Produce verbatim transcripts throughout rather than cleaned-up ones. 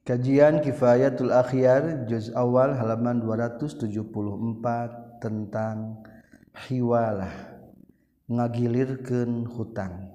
Kajian Kifayatul Akhyar juz awal halaman dua ratus tujuh puluh empat tentang hiwalah ngagilirkeun hutang.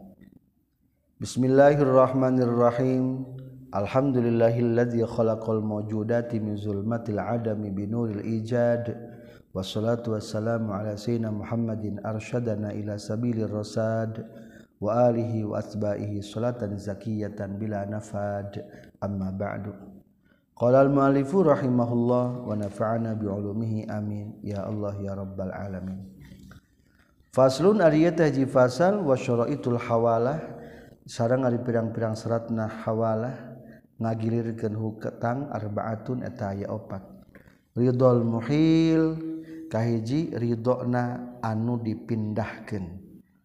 Bismillahirrahmanirrahim. Alhamdulillahilladzi khalaqal mawjudati min zulmatil adami binuril ijad. Wassalatu wassalamu ala sayyidina Muhammadin arsyadana ila sabilir rasad wa alihi wa asba'ihi salatan zakiyatan bila nafad. Amma ba'du. Qala al-mu'allifu rahimahullah wa nafa'ana bi'ulumihi amin ya Allah ya rabbal alamin. Faslun ariya tahji fasal wa syara'itul hawalah sareng ari pirang-pirang syaratna hawalah ngagilirkeun hutang arbaatun eta aya opat. Ridul muhil kahiji ridona anu dipindahkeun.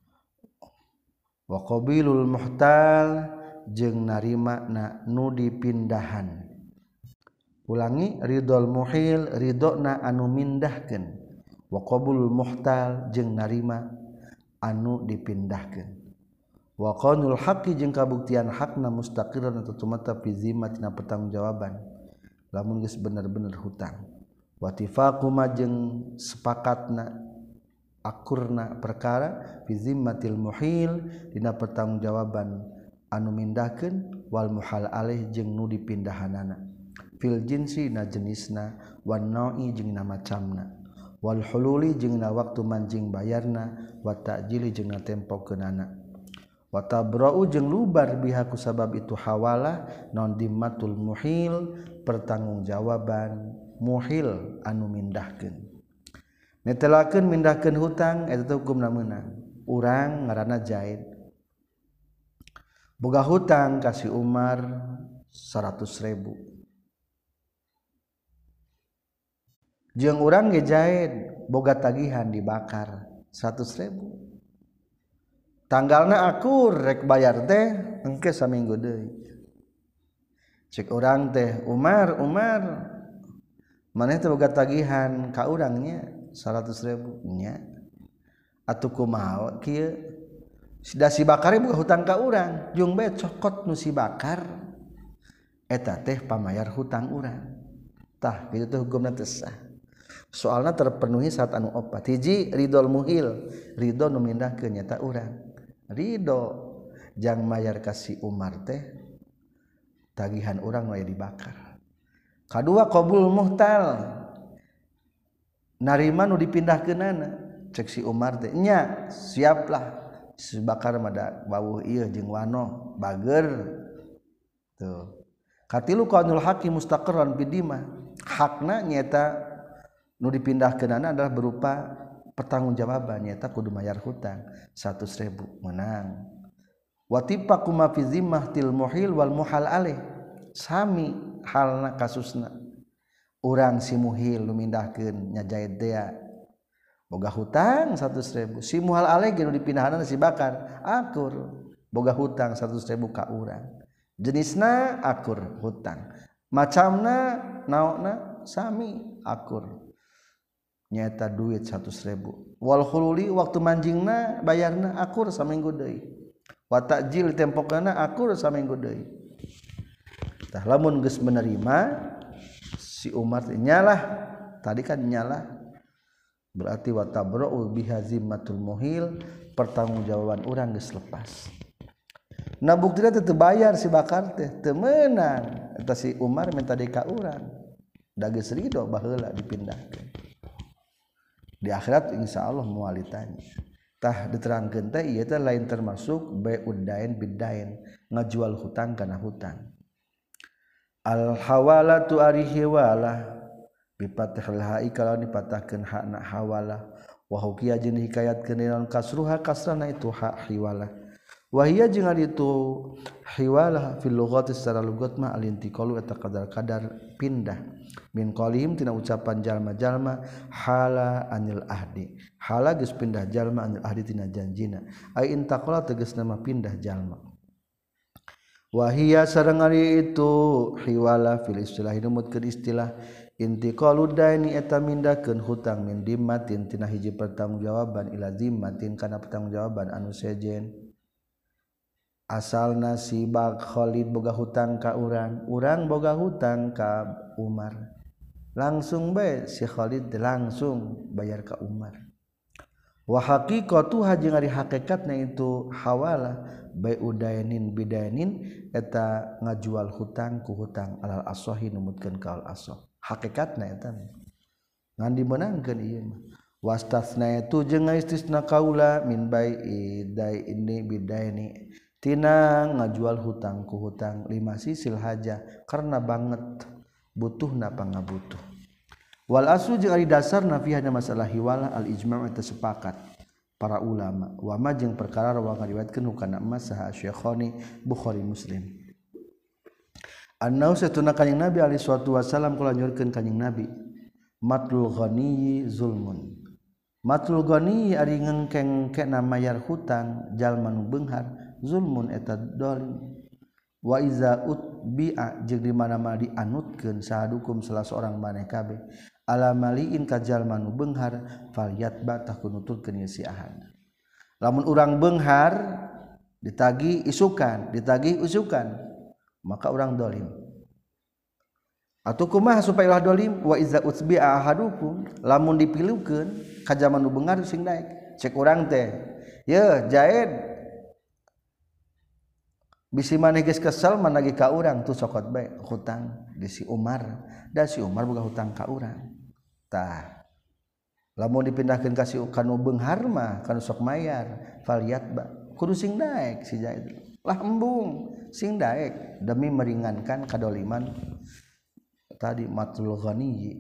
Wa qabilul muhtal jeung narima na nu dipindahan. Ulangi, ridul muhil ridona anu mindahkeun, wa qabulul muhtal jeung narima anu dipindahkeun. Wa qanul haqqi jeung kabuktian hakna mustaqirran atau tumata fi zimmatina pertanggungjawaban lamun geus bener-bener hutang. Wa tifaqu ma jeung sepakatna akurna perkara fi zimmatil muhil dina pertanggungjawaban anu mindahkeun wal muhal alaih jeung nu dipindahanana fil jinsi na jenisna wan naui jeung na macamna wal hululi jeung na waktu manjing bayarna wa ta'jili jeung na tempokeunana wa tabra'u jeung lubar biha ku sabab itu hawalah non dimmatul muhil pertanggungjawaban muhil anu mindahkeun netelakeun mindahkeun hutang eta hukumna meunang urang ngaranna Zaid boga hutang kasih Umar seratus ribu jeung urang ge Zaid boga tagihan dibakar seratus ribu tanggalna akur rek bayar teh engke saminggu deui cek urang teh Umar Umar maneh teh boga tagihan ka urang nya seratus ribu nya atuh kumaha kieu da si bakar buka hutang ka urang jeung bae cokot nu si bakar eta teh pamayar hutang urang tah kitu teh hukumna teu sah soalna terpenuhi syarat anu opat hiji ridol muhil ridho nu mindahkeun nya ta urang ridho jang mayar ka si Umar teh tagihan urang we dibakar kadua qabul muhtal narima nu dipindahkeunana cek si Umar teh nya siaplah si bakar mada bawuh ieu jeung wano bager tuh katilu qaulul haqqi mustaqirran bidimah hakna nyata nu dipindahkeunana adalah berupa pertanggungjawaban nyata kudu mayar hutang seratus ribu menang watipaqu ma fi zimmatil muhil wal muhal alaih sami halna kasusna urang si muhil nu mindahkeun nya Zaid teh boga hutang seratus ribu si muhal alaih ge nu dipindahanna si bakar akur boga hutang seratus ribu ka urang jenisna akur hutang macamna naonna sami akur nyaeta duit seratus ribu wal khululi waktu manjingna bayarna akur saminggu deui wa ta'jil tempokeunna akur saminggu deui tah lamun geus menerima si Umar nyalah tadi kan nyalah berarti wa tabra'u bihazimmatul muhil pertanggungjawaban urang geus lepas. Na buktina teh teu bayar si bakar teh teu meunang eta si Umar minta deui ka urang da geus ridho baheula dipindahkeun. Di akhirat insyaallah moal ditanya. Tah diterangkeun teh ieu teh lain termasuk bai'ud dain biddain ngajual hutang kana hutang. Al hawalatu ari hiwalah bipathil ha'i kalau dipatahkeun hakna hawalah wa hukiya jeung hikayatkeun naon kasruha kasrana itu hak hiwalah wa hiya jeung ari itu hiwalah fil lughati secara lugat mah alintiqalu eta kadar-kadar pindah min qalim tina ucapan jalma-jalma hala anil ahdi hala geus pindah jalma anil ahdi tina janjina ai intaqala tegasna mah pindah jalma wa hiya sareng ari itu hiwalah fil istilah numutkeun istilah intiqalud daini eta mindahkeun hutang min dimmatin tina hiji pertanggungjawaban ila zimmatin kana pertanggungjawaban anu sejen asal nasibak Khalid boga hutang ka urang urang boga hutang ka Umar langsung bae si Khalid langsung bayar ka Umar wa haqiqatuha jeung ari hakikatna itu hawalah bai udainin bidainin eta ngajual hutang ku hutang alal asahi numutkeun ka al asah hakikatna eta ngan dimenangkeun ieu mah wastasna itu jeung istisna kaula min bai'i dai ini bidaini tina ngajual hutang ku hutang lima sisil haja karena banget butuhna pangabutuh wal aslu jeung ari dasarna fi hana masalah hiwalah al ijma' eta sepakat para ulama wa ma jeung perkara rawa ngariwayatkeun hukana emas saha Syekhani Bukhari Muslim annau satuna kanjing Nabi alaihi salatu wasallam kula nyurkeun kanjing Nabi matlul ghani zulmun matlul ghani ari ngengkeng-kena mayar hutang jalma nu beunghar zulmun eta dolim wa iza utbi'a jeung di mana-mana dianutkeun sahadukum salah seorang maneh kabeh ala maliin ka jalma nu beunghar falyatba tah kunutulkeun ieu si ahad lamun urang beunghar ditagi isukan ditagi usukan maka urang dolim atuh kumaha supaya ulah dolim wa iza utbi'a ahadukum lamun dipilukeun ka jalma nu beunghar sing daek cek urang teh ye jaed bisi maneh geus kesel managi ka urang tuh sokot bae hutang di si Umar da si Umar boga hutang ka urang tah lamun dipindahkeun ka si kanu beunghar mah kanu sok mayar falyatba kudu sing daek si Zaid lah embung sing daek demi meringankan kadoliman tadi matul ghani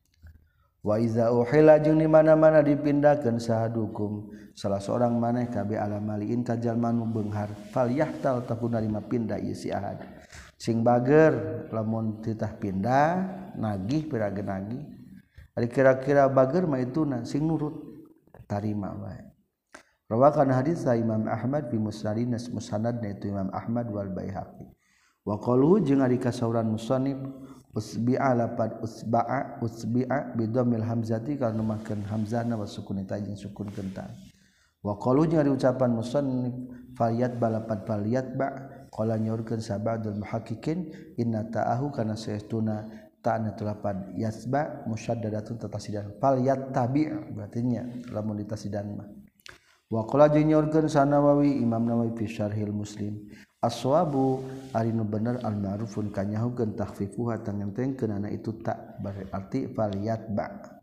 wa iza uhila jeung di mana-mana dipindahkeun sahadukum salah seorang maneh kabeh ala maliin ka jalma nu beunghar falyahtal takun narima pindah ieu si ahad sing bager lamun titah pindah nagih piraga nagih ari kira-kira bager mah ituna sing nurut tarima wae rawakan hadis Imam Ahmad fi musnadina musnadna itu Imam Ahmad wal Baihaqi wa qaluhu jeung ari kasauran musannif usbi'a lapad usba'a usbi'a bidomil hamzati karena makan hamzahna wa sukun ta jeung sukun kental wa qalu jeung ari ucapan musannif faliyat balapad faliyat ba qala nyorkeun sabadul muhaqqiqin inna ta'ahu kana saestuna ta'na tulapad yasba musyaddadatun tatasidan faliyat tabi' berarti nya lamun ditasidan mah wa qala jeung nyorkeun Sanawawi Imam Nawawi fi Syarhil Muslim as-sawabu ari nu bener al-ma'rufun kanyahukeun takhfifuha tangentengkeun ana itu tak berarti faliyat ba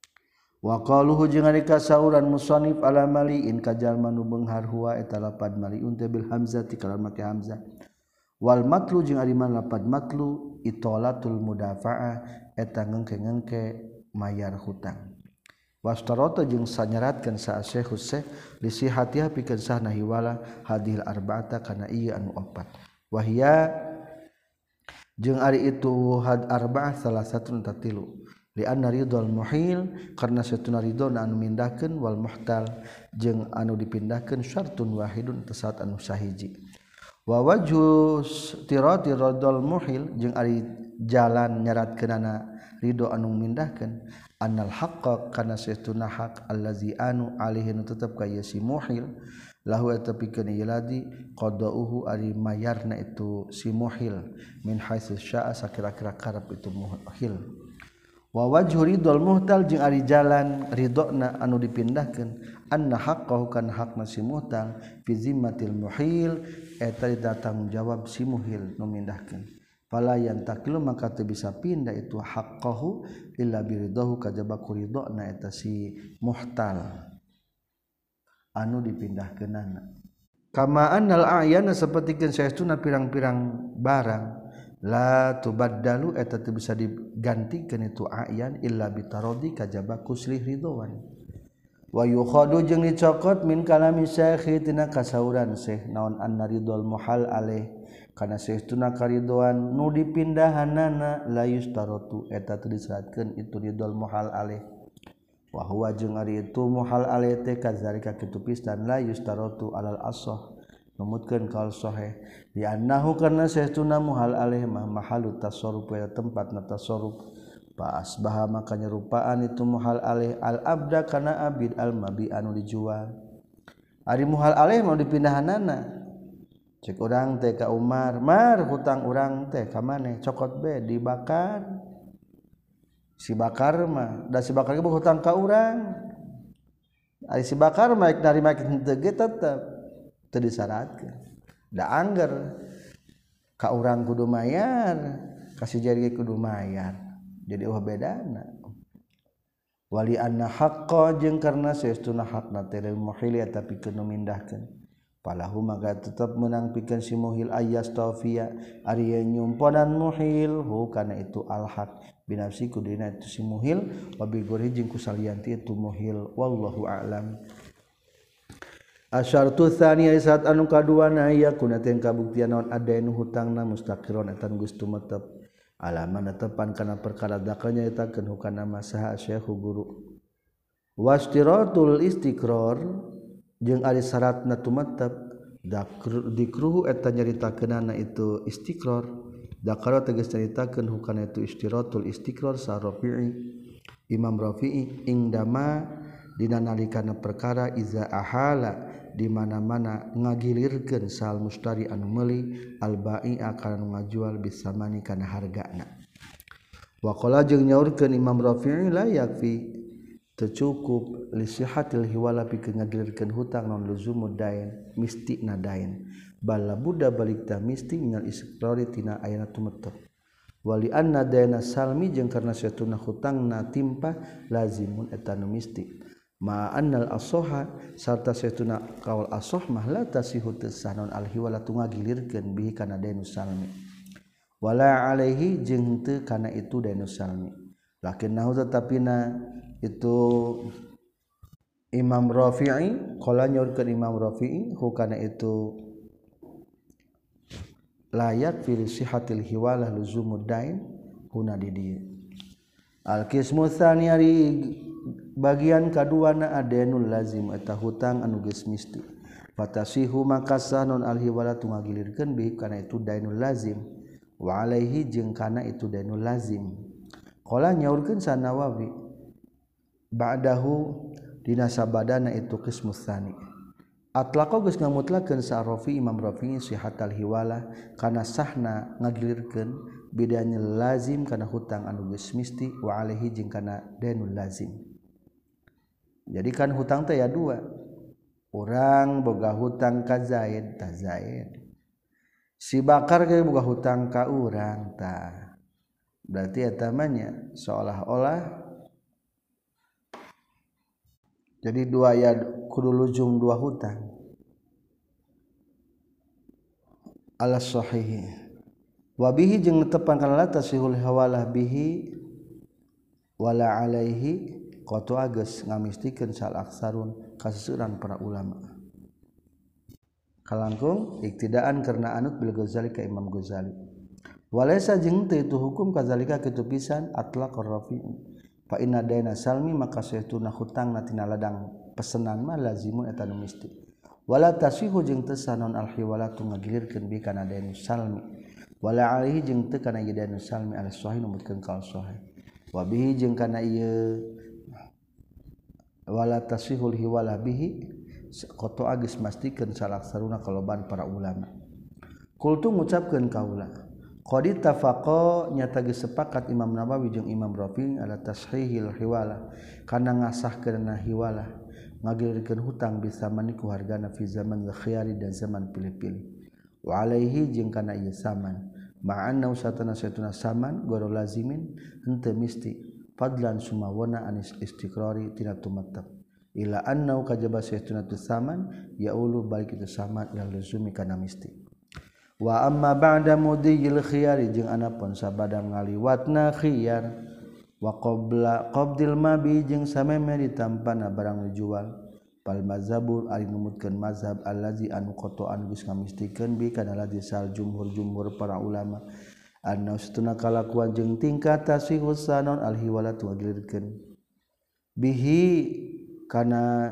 wa qaluhu jeung ari kasauran musannif ala maliin ka jalma nu beunghar huwa eta lapad maliun teh bil hamzati kalawan make hamzah wal matlu jeung ari man lapad matlu itolatul mudafa'ah eta ngengke-ngengke mayar hutang wastarata jeung sanyaratkeun sa Syekh Syekh li sihatiha pikeun sahna hiwala hadhil arba'ata kana ieu anu opat wahia jeung ari itu had arba'ah salah satu tatilu li anna ridal muhil karna satuna ridona anu mindahkeun wal muhtal jeung anu dipindahkeun syartun wahidun tasat anu sahiji wa wajhus tirati ridal muhil jeung ari jalan nyaratkeunana ridho anu mindahkeun annal haqqa kana saestuna haq allazi anu alaihi nu tetep ka si muhil lahu eta pikeun ieu ladi qadauhu ari mayarna itu si muhil min haitsu syaa sakira-kira karep itu muhil wa wajhu ridul muhtal jeung ari jalan ridona anu dipindahkeun anna haqqahu kana hakna si muhtal fi zimmatil muhil eta ditanggung jawab si muhil nu mindahkeun fala yantakilu maka teu bisa pindah itu haqqahu illa biridahu kajaba kuridona eta si muhtal anu dipindahkeunana kama annal a'yana sapertikeun saestuna pirang-pirang barang la tubaddalu eta teu bisa digantikeun itu a'yan illa bitaradi kajaba kuslih ridwan wa yukhadu jeung dicokot min kalami syekh tina kasauran syekh naon anna ridwal muhal alaih kana saestuna karidoan nu dipindahanana la yustaratu eta teu disyaratkeun itu ridwal muhal alaih wa huwa jeung ari itu muhal alaih teh kadzalika kitu pisan la yustaratu alal asah numutkeun kal sahih di annahu kana saestuna muhal alaih mah mahalu tasarruf ya tempatna tasarruf pa asbaha maka nyerupaan itu muhal alaih al abda kana abid al mabi anu dijual ari muhal alaih mau dipindahanana cek urang teh ka Umar Mar hutang urang teh ka maneh cokot be dibakar si bakar mah da si bakar ge hutang ka urang ari si bakar mah narima henteu ge tetep teu disyaratkeun da angger ka urang kudu mayar ka si jari ge kudu mayar jadi eueuh bedana wali anna haqqo jeung karna saestuna hakna teh lil muhil eta pikeun mindahkeun palahu maka tetep menang pikeun si muhil ayas tawfiya ari nyumponan muhil hu kana itu al haq binafsi kudina itu si muhil wa bi gori jeung kusalianti itu muhil wallahu a'lam. Asyartu tsani saat anu kaduana ya kuna teh kabuktian naon adainu hutangna mustaqiron eta geus tumetep alaman tepan kana perkara dakanya etakeun hukana masaha syekh guru wastiratul istiqrar jeung ari syaratna tumetep dikruhu eta nyaritakeunana itu istiqrar dakara tegas nyaritakeun hukana itu istiratul istiqrar sa Rafi'i Imam Rafi'i ingdama dina nalikana perkara iza ahala di mana-mana ngagilirkeun sal mustari anu meuli al bai'a kana ngajual bisamani kana hargana wa qala jeung nyaurkeun Imam Rafi'i la yakfi teu cukup li sihatil hiwala pikeun ngagilirkeun hutang non luzumud dain mistina dain bal budda balik ta misti minal istiqrari tina ayana tumetep wali anna daina salmi jeung karna satuna hutangna timpa lazimun eta nu misti ma annal asoha sarta satuna kaul asoh mah la tasihu tasanon alhiwala tungagilirkeun bihi kana dainus salmi wala alaihi jeung teu kana itu dainus salmi lakinnahu tatapina itu Imam Rafi'i qala nyaurkeun Imam Rafi'i hukana itu layak fi sihatil hiwalah luzumud dain huna di dieu al qismu tsani ari bagian kaduana adenul lazim eta hutang anu geus misti fatasihu maka sanon al hiwala tungagilirkeun bi kana itu dainul lazim wa alaihi jeung kana itu dainul lazim qala nyaurkeun Sanawawi ba'dahu dina sabadana itu qismu tsani atlaqa geus ngamutlakeun sa Rafi Imam Rafi sihatal hiwala kana sahna ngagilirkeun bidanya lazim kana hutang anu geus misti wa alaihi jeung kana dainul lazim. Jadi kan hutang teh ya dua. Urang boga hutang ka Zaid, tah Zaid. Si Bakar ge boga hutang ka urang tah. Berarti eta mah nya seolah-olah jadi dua ya kudu lujung dua hutang ala sahih wa bihi jeung netepan kana tasihul hawalah bihi wala alaihi qatu ageus ngamistikeun sal aksarun kaseuran para ulama kalangkung iktidaan karena anut bil Ghazali ka Imam Ghazali walaysa jeung teu itu hukum kadzalika kitu pisan atlaq ar-rafi'i fa inna daina salmi maka saytuna hutangna tina ladang pesenan mah lazimun eta nu misti wala tasihu jeung teu sanon alhiwalatu ngagilirkeun bi kana dainu salmi wala alaihi jeung teu kana dainu salmi al sahih numutkeun ka sahih wa bihi jeung kana ieu wala tasihul hiwala bihi qatu agis mastikeun salaksaruna kaloban para ulama kultu ngucapkeun kaula qad tafaqo nyata geus sepakat Imam Nawawi jeung Imam Rafi' ala tashihil hiwala kana ngasahkeunna hiwala ngagilirkeun hutang bisa maniku hargana fi zaman khiyari dan zaman pilih-pilih wa alaihi jeung kana ieu saman ma'anna usatana satuna saman goro lazimin henteu misti fadlan sumawona anis istiqrari tina tumattaq ila anna kajaba satuna tu saman yaulu balik itu saman ila lazumi kana misti wa amma ba'da mudiyil khiyari jeung anapun sabada ngaliwatna khiyar wa qabla qabdil mabi jeung sameme ditampana barang dijual pal mazhabul ari numutkeun mazhab allazi anu qata'an geus ngamistikeun bi kana ladzi sal jumhur-jumhur para ulama anna satuna kalakuan jeung tingkat tasihus sanon alhiwalat wa dilirkeun bihi kana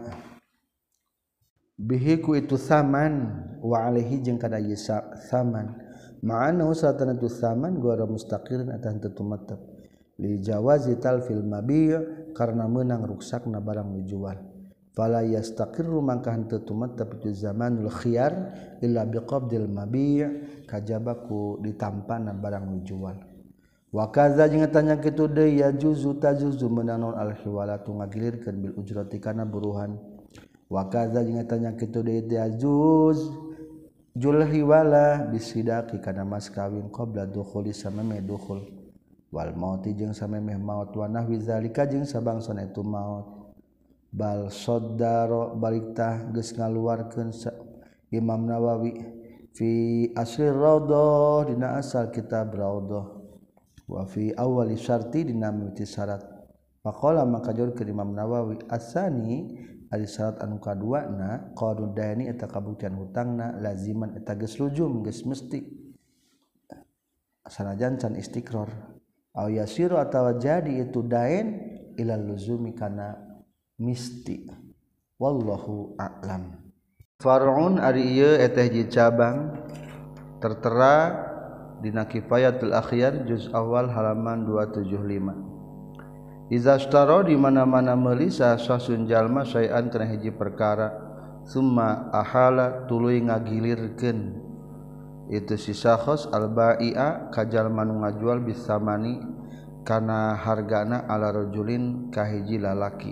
bihi ku itu saman wa alaihi jeung kana ieu saman ma'ana usatana tu saman gora mustaqirin atan tutumattap li jawazi talfil mabi' karena meunang ruksakna barang dijual fala yastaqirru mangka henteu tumattep itu zamanul khiyar illa biqabdil mabi' kajaba ku ditampana barang nu jual wa kaza jeung tanya kitu deui ya juzu tajuzu meunang al hiwalatu ngagilirkeun bil ujrati kana buruhan wa kaza jeung tanya kitu deui ya juz jul hiwala bisidaqi kana mas kawin qabla dukhuli samame dukhul wal mauti jeung sameme maut wa nahwi zalika jeung sabangsana itu maut bal saddaro baliktah geus ngaluarkeun Imam Nawawi fi asli raudhah dina asal kitab raudhah wa fi awwali syarti dina mimiti syarat faqala maka jorkeun Imam Nawawi asani ari syarat anu kaduana qadud dayani eta kabuktian hutangna laziman eta geus lujum geus mesti sanajan can istiqrar aw yasiru atawa jadi itu dain ilal luzumi kana misti wallahu a'lam. Far'un ari ieu eta hiji cabang tertera dina Kifayatul Akhyar juz awal halaman dua ratus tujuh puluh lima. Iza ashtara di mana-mana meuli sasun jalma sayan kana hiji perkara summa ahala tuluy ngagilirkeun itu si sakhos al-bai'a ka jalma nu ngajual bisamani kana hargana ala rajulin ka hiji lalaki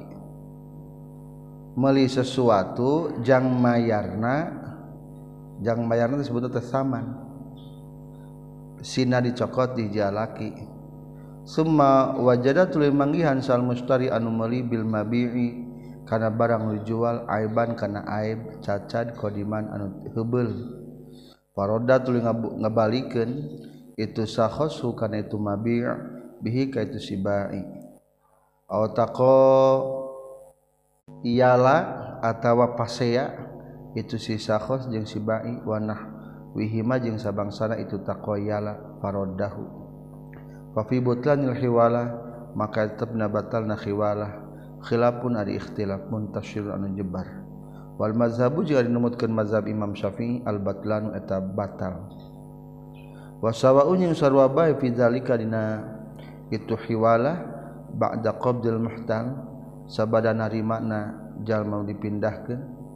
meuli sesuatu jang mayarna jang mayarna disebut teh saman sina dicokot di jalaki summa wajada tuluy manggihan sal mustari anu meuli bil mabi'i kana barang dijual aiban kana aib cacat qadiman anu heubeul faroda tuluy ngabalikeun itu sakhosu kana itu mabi' bihi ka itu si bai aw taqa iyalah atawa pasea itu si sakhos jeung si bai wanah wihima jeung sabangsana itu taqoyala farodahu fa fi butlanil hiwala maka tetepna batalna hiwala khilafun ari ikhtilaf muntashir anu jebar wal mazhabu jeung dinumutkeun mazhab Imam Syafi'i al batlanu eta batal wa sawa'un jeung sarua bae fi zalika dina itu hiwala ba'da qabdil muhtal sabada narimana jalma dipindahkeun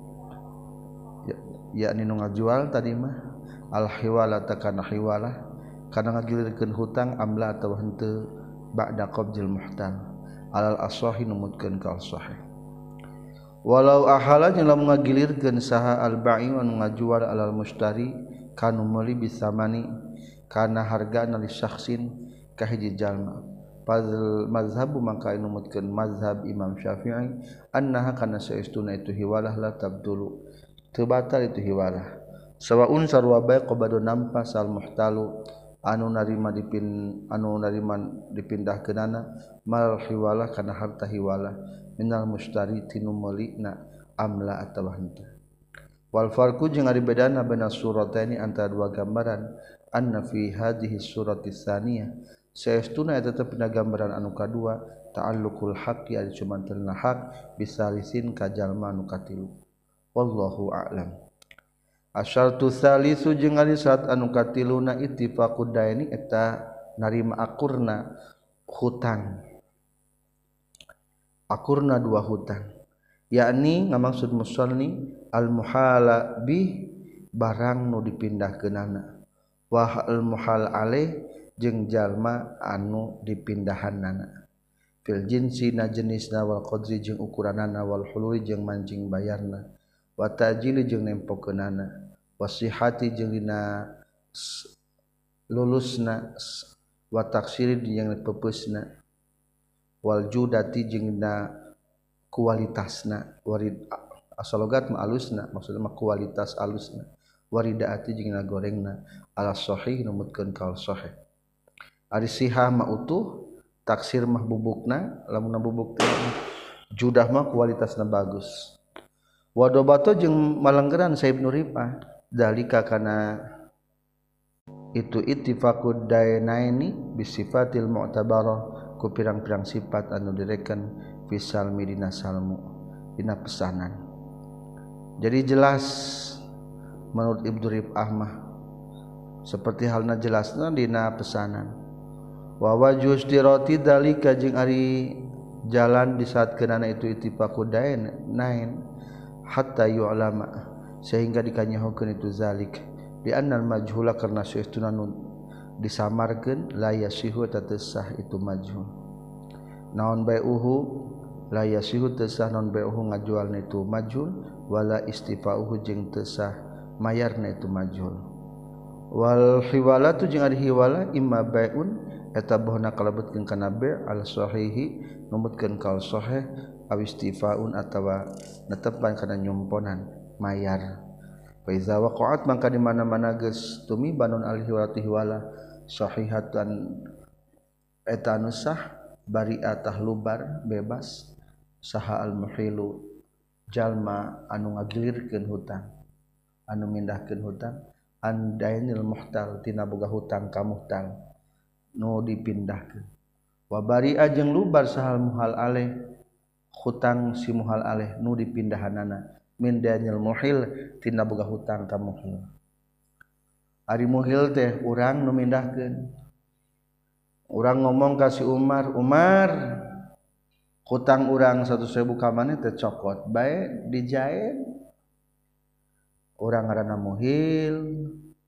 yakni nu ngajual tadi mah al hiwala takana hiwala kana ngagilirkeun hutang amla atawa henteu ba'da qabdil muhtal alal ashahi numutkeun ka sahih walau ahala jeung lamun ngagilirkeun saha al ba'i anu ngajual alal mustari kanu meuli bisamani kana hargana li syakhsin ka hiji jalma fadzal mazhabu maka numutkeun mazhab Imam Syafi'i annaha kana saestuna itu hiwalah la tabdulu teu batal itu hiwalah sawaun sarua bae qabadu nampas al muhtalu anu narima dipin anu narima dipindahkeunana mal hiwalah kana harta hiwalah minal mustari tinu meulina amla atawa henteu wal farqu jeung ari bedana baina surataini antara dua gambaran anna fi hadhihi surati tsaniyah saestuna eta teh pina gambaran anu kadua ta'alluqul haqqi ari cumantelna hak bisalisin ka jalma anu katilu wallahu a'lam. Asyartu salisu jeung ari syarat anu katiluna ittifaqud daini eta narima akurna hutang akurna dua hutang yakni ngamaksud musanni al muhala bi barang nu dipindahkeunana wa al muhal alaih jeung jalma anu dipindahanana fil jinsi na jenisna wal qadri jeung ukuranana wal hululi jeung manjing bayarna wa ta'jili jeung nempokeunana wasihati jeung dina lulusna wa taksiri jeung pepeusna wal judati jeung dina kualitasna warid asalogat ma alusna maksudna mah kualitas alusna waridaati jeung dina gorengna ala sahih numutkeun kaul sahih ari sihah mah utuh taksir mah bubukna lamun bubuk teh judah mah kualitasna bagus wadobato jeung malenggeran Saib Nurifah dalika kana itu ittifaqud dainaini bisifatil mu'tabarah ku pirang-pirang sifat anu direken fisal midina salmu dina pesanan jadi jelas menurut Ibnu Rif'ah mah seperti halna jelasna dina pesanan wa wajuz dirati dalika jeung ari jalan di saat kenana itu itifaku dain nain hatta yu'lama sehingga dikanyahukeun itu zalik di annal majhula karena saestuna nu disamarkeun la yasihu tatesah itu majhul naon bai'uhu la yasihu tesah naon bai'uhu ngajualna itu majhul wala istifa'uhu jeung tesah mayarna itu majhul wal hiwalatu jeung ari hiwala imma bai'un eta bohna kalebetkeun kana bai' al sahihi numutkeun kal sahih aw istifaun atawa netepan kana nyumponan mayar fa iza waqa'at mangka di mana-mana geus tumiban al hiwalatu hiwala sahihatan eta anu sah bari'ah tahlubar bebas saha al muhilu jalma anu ngagilirkeun hutang anu mindahkeun hutang an dainil muhtal tina boga hutang ka muhtal nu dipindahkeun wa bari'a jeung lubar sahal muhal aleh hutang si muhal aleh nu dipindahanana min dainil muhil tina boga hutang ka muhil ari muhil teh urang nu mindahkeun urang ngomong ka si Umar Umar hutang urang seratus ribu ka maneh teh cokot bae dijaen urang ngaranna muhil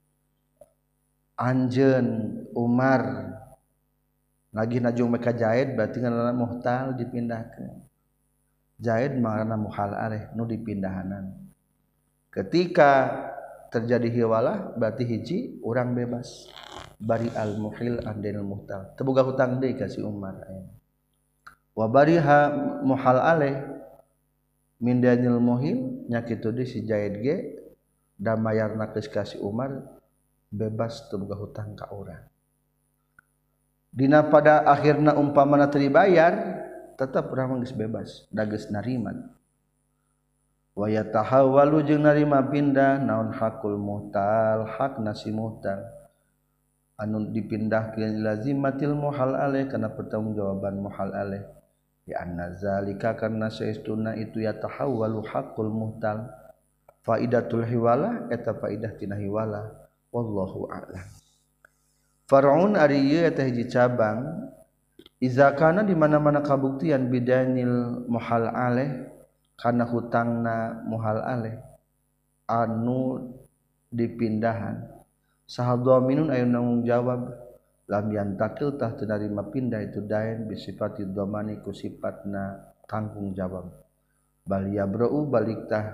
anjeun Umar lagi najung mereka jahit berarti ngaranna muhtal dipindahkeun jahit ngaranna muhal aleh nu dipindahanan ketika terjadi hiwalah berarti hiji urang bebas bari al muhil andenil muhtal teu boga hutang deui ka si Umar wa bariha muhal aleh min danil muhil nya kitu deui si jahit ge da mayarna geus ka si Umar bebas teu boga hutang ka urang dina pada akhirna umpamana teu dibayar tetep urang geus bebas da geus narima wa yatahawwalu jeung narima pindah naon hakul muhtal hak nasi muhtal anu dipindahkeun lazimatil muhal aleh kana pertanggungjawaban muhal aleh ya anna zalika karna saestuna itu yatahawwalu hakul muhtal faidatul hiwala eta faidah tina hiwala wallahu a'lam. Far'un ari ieu eta hiji cabang iza kana di mana-mana kabuktian bidanil muhal aleh kana hutangna muhal aleh anu dipindahan saha dhaminun aya nanggung jawab lam yantakil tah teu narima pindah itu dain bisifati dhamani ku sifatna tanggung jawab bal yabra'u balik tah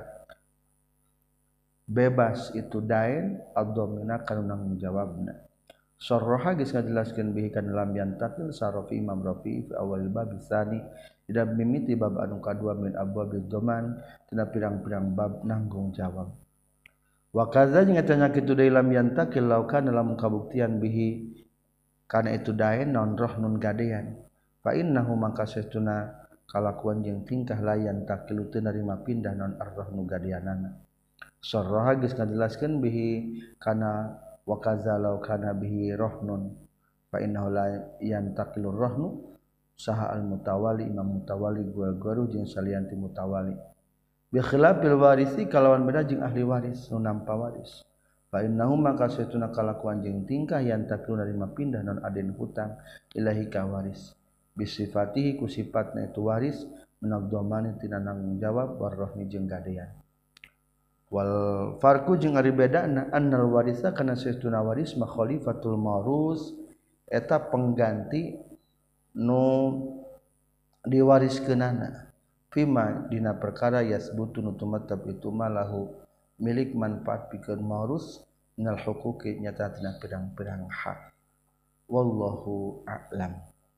bebas itu dain ad-dhamina kana nanggung jawabna sarraha geus ngajelaskeun bihi kana lam yantakil sarafi Imam Rafi'i fi awal bab tsani ida mimiti bab anu kadua min abwabil dhaman tina pirang-pirang bab nanggung jawab wa kadza jeung eta nya kitu deui lam yantakil laukana lamun kabuktian bihi kana itu daen non roh nun gadean fa innahu mangka satuna kalakuan jeung tingkah layan takilu teu narima pindah non arroh nu gadeanana sarraha geus ngajelaskeun bihi kana wa kadza laukana bihi rohnun fa innahu la yantakilu rohnu saha al mutawali imam mutawali gua-guru jeung salianti mutawali bi khilafil warisi kalawan beda jeung ahli waris nu nampa waris fa innahu maka satuna kalakuan jeung tingkah yang takilu narima pindah non aden hutang ilahi ka waris bisifatihi ku sifatna itu waris menagdomani tina nanggung jawab warrohni jeung gadean wal farqu jeung ari bedana annal warisa kana satuna waris ma khalifatul maurus eta pengganti nu diwariskeunana fima dina perkara yasbutu nu tumatab itu malahu milik manfaat pikeun maurus minal huquqi nyata tina pirang-pirang hak wallahu a'lam.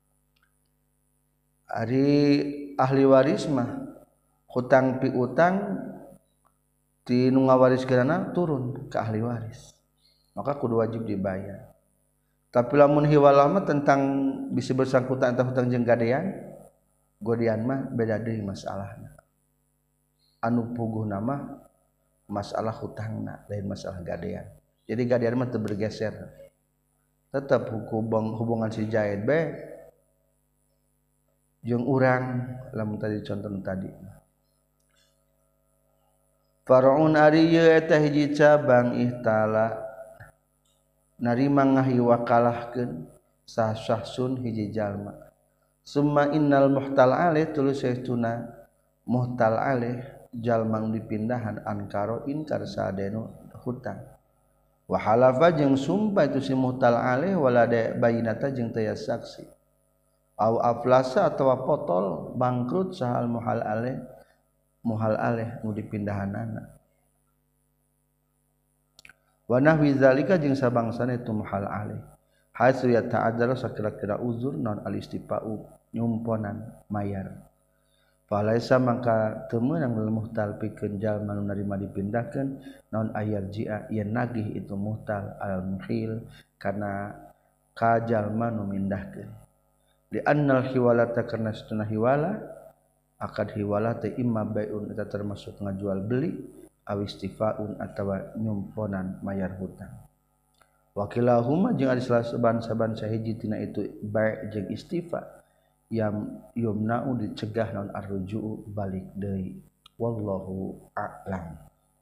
Ari ahli waris mah hutang piutang ti nu ngawariskeunana turun ke ahli waris maka kudu wajib dibayar. Tapi lamun hiwalah mah tentang bisa bersangkutan antara hutang jeung gadean godian mah beda deui masalahna anu puguhna mah masalah hutangna lain masalah gadean jadi gadean mah teu bergeser tetap hukum hubungan si jahit bae jeung urang lamun tadi contoh tadi far'un ari ieu eta hiji cabang ihtala narima ngahiwakalahkeun sah syahsun hiji jalma summa innal muhtal alih tuluy saestuna muhtal alih jalma nu dipindahan ankaro inkar sadenu hutang wa halafa jeung sumpah itu si muhtal alih walada bayinata jeung teu saksi au aflasa atawa potol bangkrut sahal muhal alih muhal alih nu dipindahanana wa nahwi zalika jeung sabangsana itu muhal alih haitsu yata'adzara sakira-kira uzur non al-istifa'u nyumponan mayar falaisa maka teu meunang lil muhtal pikeun jalma nu narima dipindahkeun non ayar ji'a yen nagih itu muhtal al-muhil kana ka jalma nu mindahkeun li annal hiwalata karna satuna hiwala akad hiwala teh imma bai'un eta termasuk ngajual beli aw istifaun atawa nyumponan mayar hutang wakilahuma jeung ari saban-saban sahiji tina itu bai' jeung istifa yang yumna'u dicegah naon arruju'u balik deui wallahu a'lam.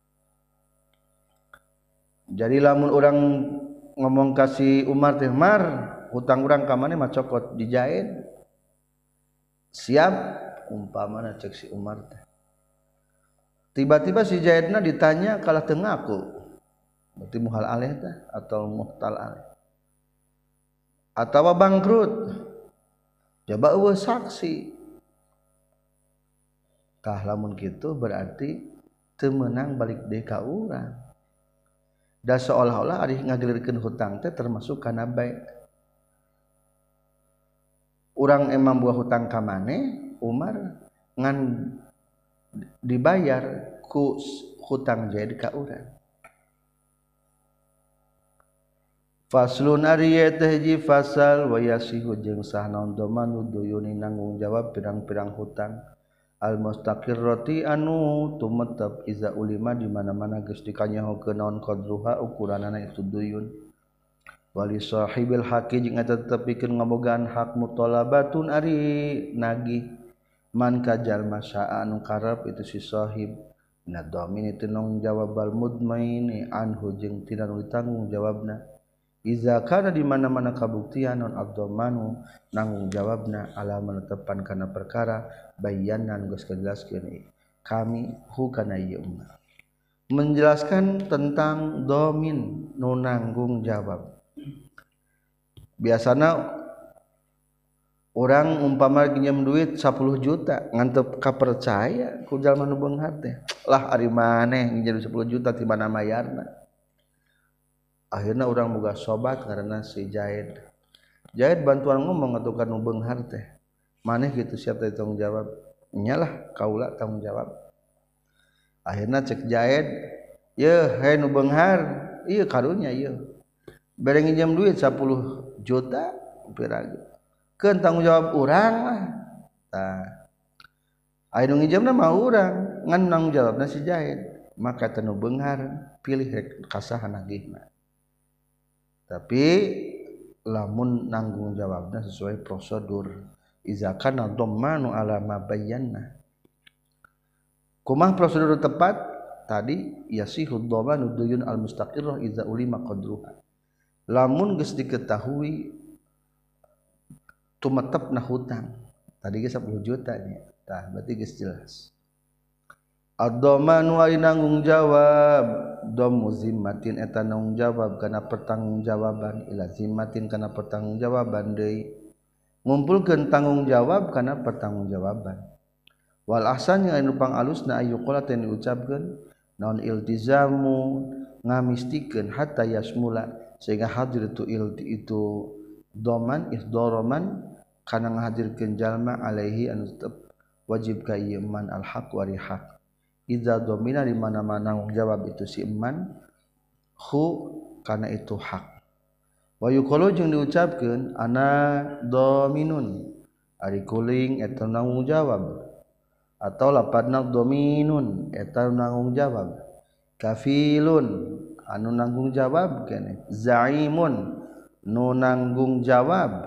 Jadi lamun urang ngomong kasih Umar teh Mar hutang urang ka maneh mah cokot dijahit siap umpamana cek si Umar teh tiba-tiba si Zaidna ditanya kalah teu ngaku berarti muhal alih teh atau muhtal alih atawa bangkrut coba eueuh saksi tah lamun kitu berarti teu meunang balik deui ka urang da seolah-olah ari ngagelirkeun hutang teh termasuk kana bai urang emang buah hutang ka maneh Umar ngan dibayar ku hutang Zaid ka urang faslun ari teh hiji fasal wa yasihu jeung sah naon domanu duyuni nanggung jawab pirang-pirang hutang al mustaqirrati anu tumetep iza ulima di mana-mana geus dikanyahokeun naon qadruha ukuranana itu duyun wali sahibil haqi jeung eta tetepikeun ngabogaan hak mutalabatun ari nagih man kajal masya anu karep itu si sahib nadhamin itu nang jawab al mudmaini anhu jeung tina nu ditanggung jawabna iza kana di mana-mana kabuktian non abdomanu nanggung jawabna ala menetapan kana perkara bayanan geus kajelaskeun kami hu kana ieu umma menjelaskan tentang domin nu nanggung jawab biasana orang umpama pinjam duit sepuluh juta ngantep kapercaya ku jalma nu beunghar teh lah ari maneh nginjem sepuluh juta ti mana mayarna akhirna urang boga sobat karena si Zaid Zaid bantuan ngomong atuh ka nu beunghar teh maneh kitu siap teh tanggung jawab nyalah kaula tanggung jawab akhirna cek Zaid ye he nu beunghar ieu karunya ieu bere nginjem duit sepuluh juta piragi keun tanggung jawab urang lah tah aya nu nginjemna mah urang ngan tanggung jawabna si Zaid maka teu nu beunghar pilih rek kasaha nagihna tapi lamun nanggung jawabna sesuai prosedur iza kana dhammanu ala ma bayyana kumaha prosedur tepat tadi yasihu dhamanu duyun al mustaqirrah iza ulima qadruha lamun geus diketahui tumetepna hutang tadi ge sepuluh juta nya tah berarti geus jelas ad-dhamanu ari nanggung jawab dhamu zimmatin eta nanggung jawab kana pertanggungjawaban ila zimmatin kana pertanggungjawaban deui ngumpulkeun tanggung jawab kana pertanggungjawaban wal ahsan yang anu pangalusna ayyuqala teh diucapkeun naon iltizamu ngamistikeun hatta yasmula sehingga hadir itu ilti itu doman isdoroman kana ngahadirkeun jalma alaihi anu tetep wajib ka ieu man al haq wari haq idza domina di mana-mana nanggung jawab itu si man hu kana itu hak wa yuqalu jeung diucapkeun ana dominun ari kuling eta nanggung jawab atau lapadna dominun eta nanggung jawab kafilun anu nanggung jawab keneh zaimun nu nanggung jawab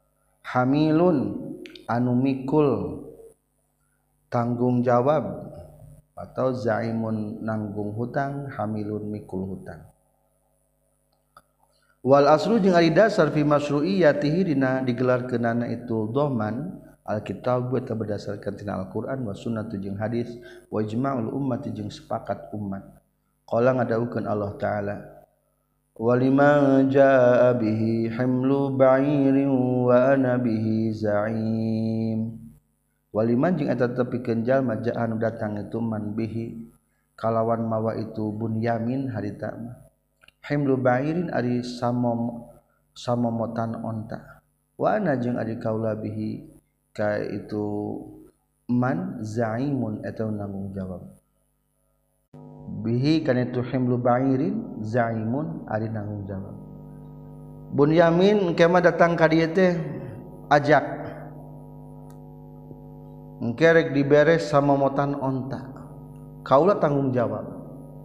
hamilun anu mikul tanggung jawab atau zaimun nanggung hutang hamilun mikul hutang wal aslu jeung ari dasar fi masyru'iyyatihi dina digelarkeunana itu dhaman alkitab eta berdasarkan tina Al-Qur'an wa sunnah jeung hadis wa ijma'ul ummati jeung sepakat umat qala ngadawukeun Allah taala waliman jaa bihi hamlu ba'irin wa ana bihi za'im waliman jeung eta tepikeun jalma jaa anu datang itu man bihi kalawan mawa itu bunyamin harita mah himlu ba'irin ari samom samomotan onta wa ana jeung ari kaula bihi ka itu man zaimun eta nanggung jawab bihi kana itu himlu ba'irin zaimun ari nanggung jawab bunyamin kema datang ka dieu teh ajak engke rek diberes samomotan onta kaula tanggung jawab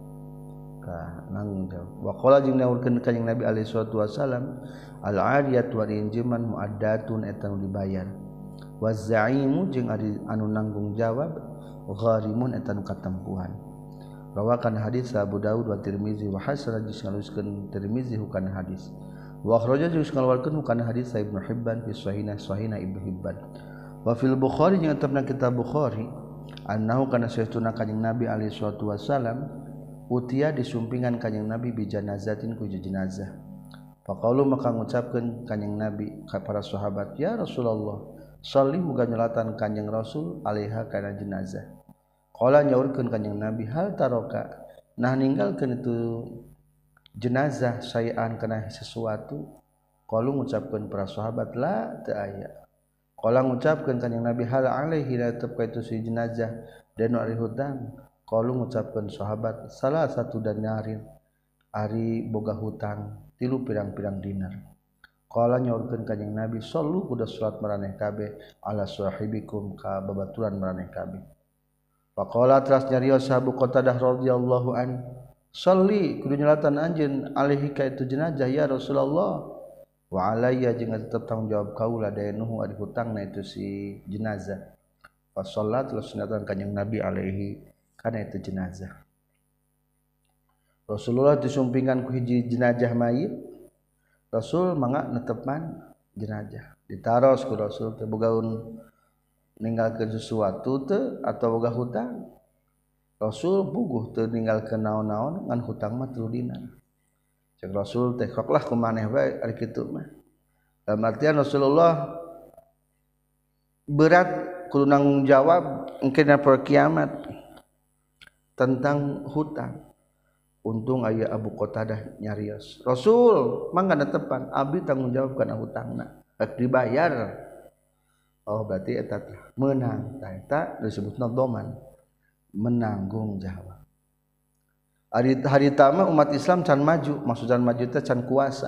nanggung jawab wa qala jeung dawuhkeun kanjing Nabi alaihi salatu wasalam al ariyatu wa injiman muaddatun eta nu dibayar wa zaimu jeung ari anu nanggung jawab gharimun eta nu katempuhan rawakan hadis Abu Daud wa Tirmizi wa hasan jeung ngaluskeun Tirmizi hukana hadis wa akhraja jeung ngaluarkeun hukana hadis Ibnu Hibban fi sahihna sahihna Ibnu Hibban wa fil Bukhari jeung tetepna kitab Bukhari annahu kana sayyiduna kanjing Nabi alaihi salatu wasalam utia disumpingan kanjing Nabi bi janazatin ku jenazah. Faqalu maka ngucapkeun kanjing Nabi ka para sahabat, "Ya Rasulullah, sholli muga nyolatan kanjing Rasul alaiha kana jenazah." Qala nyaurkeun kanjing Nabi, "Hal taroka?" Nah ninggalkeun itu jenazah sayan kana sesuatu. Qalu ngucapkeun para sahabat, "La teu aya." Qala ngucapkeun kanjing Nabi, "Hal alaihi la tabqa itu si jenazah dan ari hutang." Qalu ngucapkeun sahabat salah satu danarin ari boga hutang tilu pirang-pirang dinar. Qala nyaurkeun kanjing Nabi sallu kudu salat maraneh kabeh ala sahibikum ka babaturan maraneh kabeh. Faqala teras nyarios Abu Qatadah radhiyallahu an salli kudu nyalatan anjeun alaihi ka itu jenazah ya Rasulullah wa alayya jeung tetep tanggung jawab kaula daynuhu ari hutangna itu si jenazah. Fa sallat terus nyalatan kanjing Nabi alaihi kana itu jenazah. Rasulullah disumpingan ku hiji jenazah mayit. Rasul mangga netepan jenazah. Ditaros ku Rasul teh bogaun ninggalkeun sesuatu teu atau boga hutang. Rasul puguh teu ninggalkeun naon-naon ngan hutang mah tilu dinar. Cek Rasul teh koklah ku maneh bae ari kitu mah. Dalam artian Rasulullah berat kudu nanggung jawab engke dina poe kiamat tentang hutang. Untung aya Abu Qatadah nyarios. Rasul mangga netepan abdi tanggung jawab kana hutangna. Rek dibayar. Oh berarti eta menang. Tah eta disebutna dhaman. Menanggung jawab. Ari harita mah umat Islam can maju, maksudna maju teh can kuasa.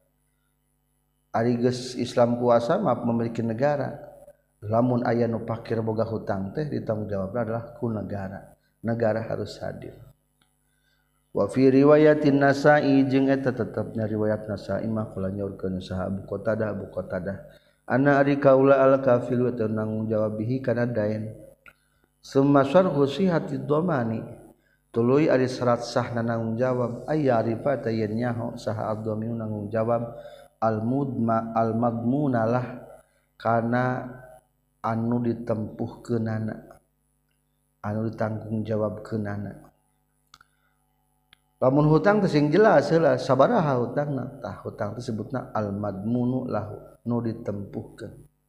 Ari geus Islam kuasa mah memiliki negara. Lamun aya nu pakir boga hutang teh ditanggung jawabna adalah ku negara. Negara harus hadir. Wa fi riwayatin Nasa'i jeung eta tetepna riwayat Nasa'i mah kula nyaurkeun saha Abu Qatadah Abu Qatadah ana ari kaula al kafilu teu nanggung jawab bihi kana dain summa syarhu sihatid dhamani tuluy ari syarat sahna nanggung jawab aya arifata yen nyaho saha ad-dhaminu nanggung jawab al mudma al madmunalah kana anu ditempuhkeunana anu ditanggung jawabkeunana. Lamun hutang teh sing jelas heula sabaraha hutangna tah hutang teh disebutna al madmunu lahu nu ditempuhkeun.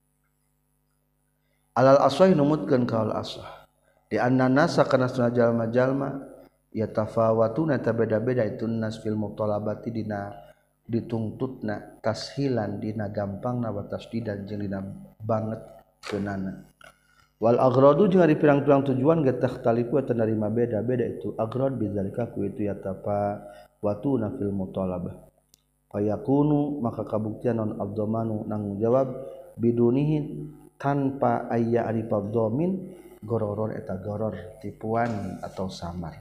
Alal aswah numutkeun ka al aswah di anna nasa kana sunah jalma-jalma yatafawatuna ta beda-beda itu nas fil mutalabati dina dituntutna tashilan dina gampangna wa tasdidan jeung dina banget keunana. Wal agradu jeung ari pirang-pirang tujuan ge takhtalifu eta narima beda-beda itu agrad bidzalika ku itu yatapa watuna fil mutalabah fayakunu maka kabuktian non ad-dhamanu nanggung jawab bidunihi tanpa aya arifad dhamin gororor eta goror tipuan atau samar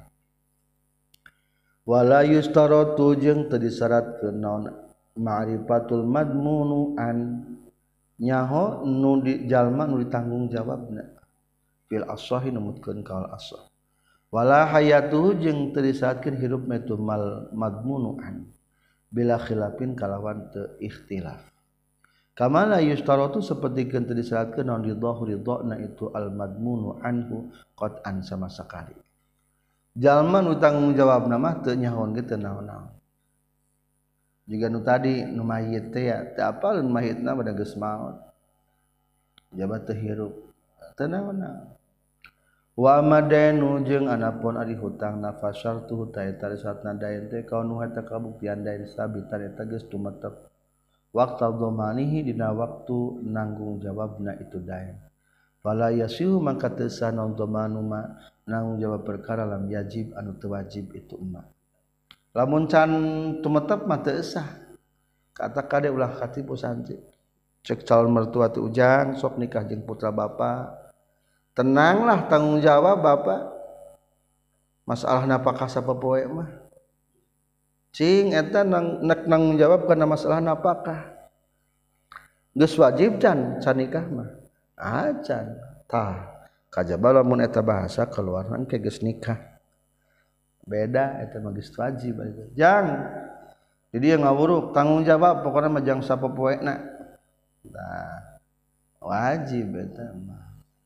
wala yustaratu jeung teu disyaratkeun naon ma'rifatul madmunu an nyaho nu di jalma nu ditanggung jawabna fil ashahi numutkeun kaul ashah wala hayatuhu jeung teu disyaratkeun hirupna itu mal madmunuan bila khilafin kalawan teu ikhtilaf. Kamala yustaratu sapertikeun teu disyaratkeun naon ridho ridhona itu al madmunu anhu qat'an sama sakali. Jalma nu tanggung jawabna mah teu nyahoon ge teu naon-naon. Jiga nu tadi nu mayit teh ya teu apal nu mayitna bada geus maot. Jabat teu hirup teu naon-naon. Wa madenu jeung anapun ari hutang nafasar tu ta eta saatna daen teh kaunu eta kabuktian daen sabitan eta geus tumetep waqta dhamanihi dina waktu nanggung jawabna itu daen fala yasihu maka teu sah naon dhamanu ma nanggung jawab perkara lam yajib anu teu wajib itu emma lamun can tumetep mah teu sah kata kade ulah katipu santri cek calon mertua teu ujang sok nikah jeung putra bapa. Tenanglah tanggung jawab bapak masalah napakah sapopoe mah cing eta nang nek nanggung jawab kana masalah napakah geus wajib can can nikah mah acan tah kajaba lamun eta bahasa keluaran ke geus nikah beda eta mah geus wajib jang jadi ngawuruk tanggung jawab pokona mah jang sapopoena tah wajib eta mah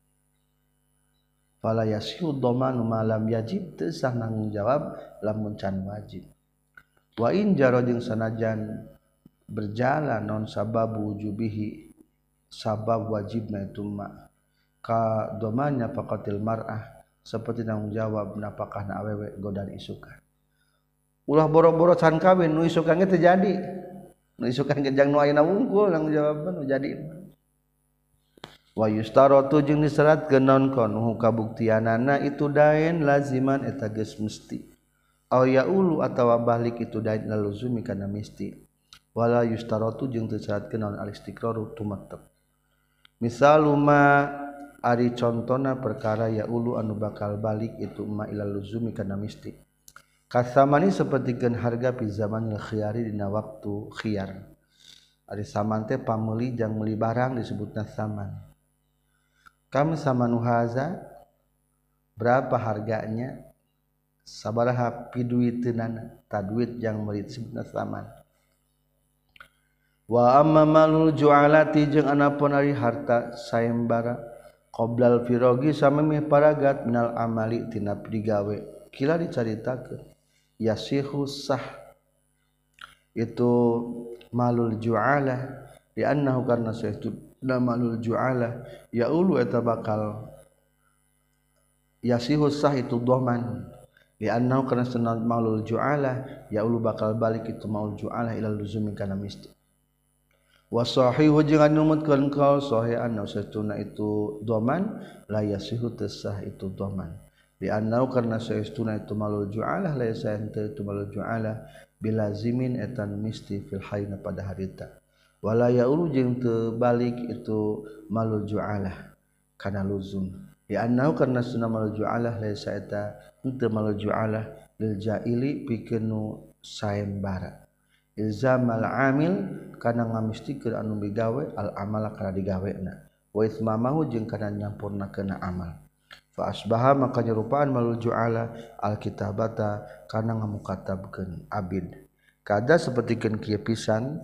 fala yasihu dhamanu ma lam yajib teu sah nanggung jawab lamun can wajib wa in jaro jeung sanajan berjalan non sabab wujubihi sabab wajibna itu ma ka dhamanya faqatil mar'ah saperti nanggung jawab napakahna awewe godan isukan ulah boro-boro can kawin nu isukan ge teu jadi nu isukan ge jang nu ayeuna wungkul nanggung jawab nu jadi wa yustaratu jeung disyaratkeun naon konuhu kabuktianana itu daen laziman eta geus mesti aw yaulu atawa balik itu daen laluzumi kana mesti wala yustaratu jeung teu disyaratkeun naon alistiqraru tumetep misaluma ari contona perkara yaulu anu bakal balik itu ma ilal luzumi kana mesti kasamani sapertikeun harga pi zamanil khiyari dina waktu khiyar ari saman teh pameuli jang meuli barang disebutna saman. Kam samanu haza berapa harganya sabaraha piduiteunana tadwid yang meuli disebutna saman wa amma malul ju'alati jeung anapun ari harta sayembara qoblal firogi samemeh paragat minal amali tina digawe kila dicaritakeun yasihu sah itu malul ju'alah di annahu karna saytu malul ju'alah yaulu eta bakal yasihu sah itu dhaman li annahu kana sunnah malul ju'alah yaulu bakal balik itu malul ju'alah ila luzumi kana misti wa sahihu jeung anu numutkeun kaul sahih anna saytuna itu dhaman la yasihu tasah itu dhaman li annahu karna saytuna itu malul ju'alah la yasah itu malul ju'alah bilazimin etan misti fil hayna pada harita wala yaulu jeung teu balik itu malul ju'alah kana luzum di annahu karna sunna malul ju'alah laisa eta henteu malul ju'alah lil ja'ili pikeun nu sayembara ilzamal amil kana ngamistikeun anu bigawe al amala kana digawena wa ismamahu jeung kana nyampurnakeun amal fa asbaha maka nyerupaan malul ju'alah al kitabata kana ngamukatabkeun abid kada sapertikeun kieu pisan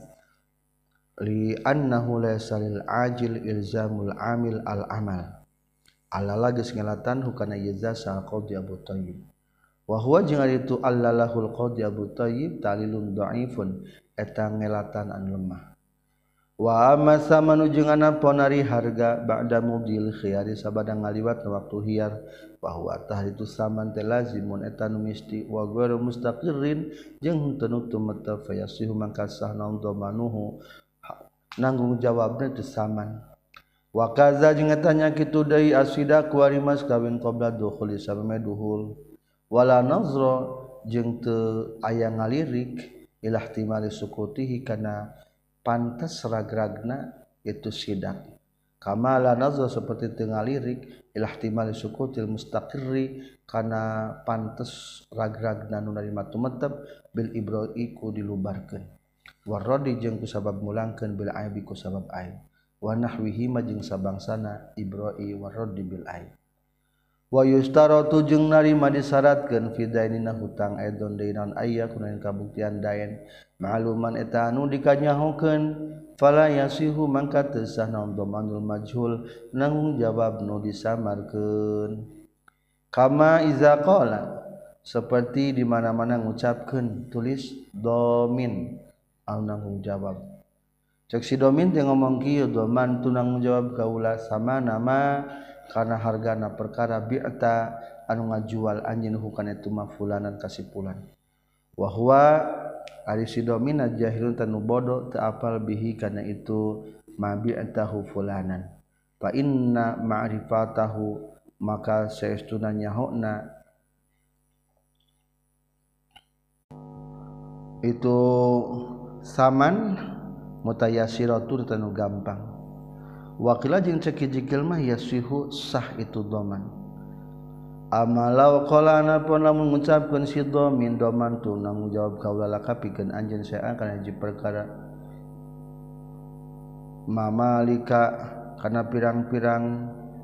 li annahu laysa lil ajil ilzamul amil al amal allala geus ngelatan hukana yajza qadi Abu Thayyib wa huwa jeung ari itu allalahul qadi Abu Thayyib talilun dhaifun eta ngelatan anu lemah wa amma samanu jeung anapun ari harga ba'da mudil khiyari sabada ngaliwat waktu hiyar wa huwa tah itu saman teh lazimun eta nu misti wa ghairu mustaqirrin jeung teu nutumeta fayasihu mangka sah naon dhamanuhu nanggung jawabna teu saman wa kaza jeung eta nya kitu deui asida kuari mas kawin qabla dukhuli sameme duhul wala nazra jeung teu aya ngalirik ila ihtimali sukutihi kana pantes ragragna itu sidak kama la nazra saperti teu ngalirik ila ihtimali sukutil mustaqirri kana pantes ragragna nu narima tumetep bil ibroi ku dilubarkeun waradi jeung ku sabab mulangkeun bil aibi ku sabab aib wa nahwihi ma jeung sabangsana ibroi waradi bil aib wa yustaratu jeung narima disyaratkeun fi dainina hutang aidon dainan aya kunaon kabuktian dain ma'luman eta anu dikanyahokeun fala yasihu mangka teu sah naon dhamanul majhul nanggung jawab nu disamarkeun kama iza qala seperti di mana-mana ngucapkeun tulis domin anu nanggung jawab cek si domin teh ngomong kieu doman tu nanggung jawab kaula sama nama karena hargana perkara bi'ta anu ngajual anjeun hukana itu mafulanan kasipulan wa huwa ari si domin jahilun tanu bodoh teu apal bihi kana itu ma bi'tahu fulanan fa inna ma'rifatahu maka saestuna nyahona itu saman mutayasiratu tanu gampang wakila jeung cek hiji mah yasihu sah itu doman amalau qala anapun lamun ngucapkeun si domin doman tu nanggung jawab kaula laka pikeun anjeun saea kana hiji perkara mamalika kana pirang-pirang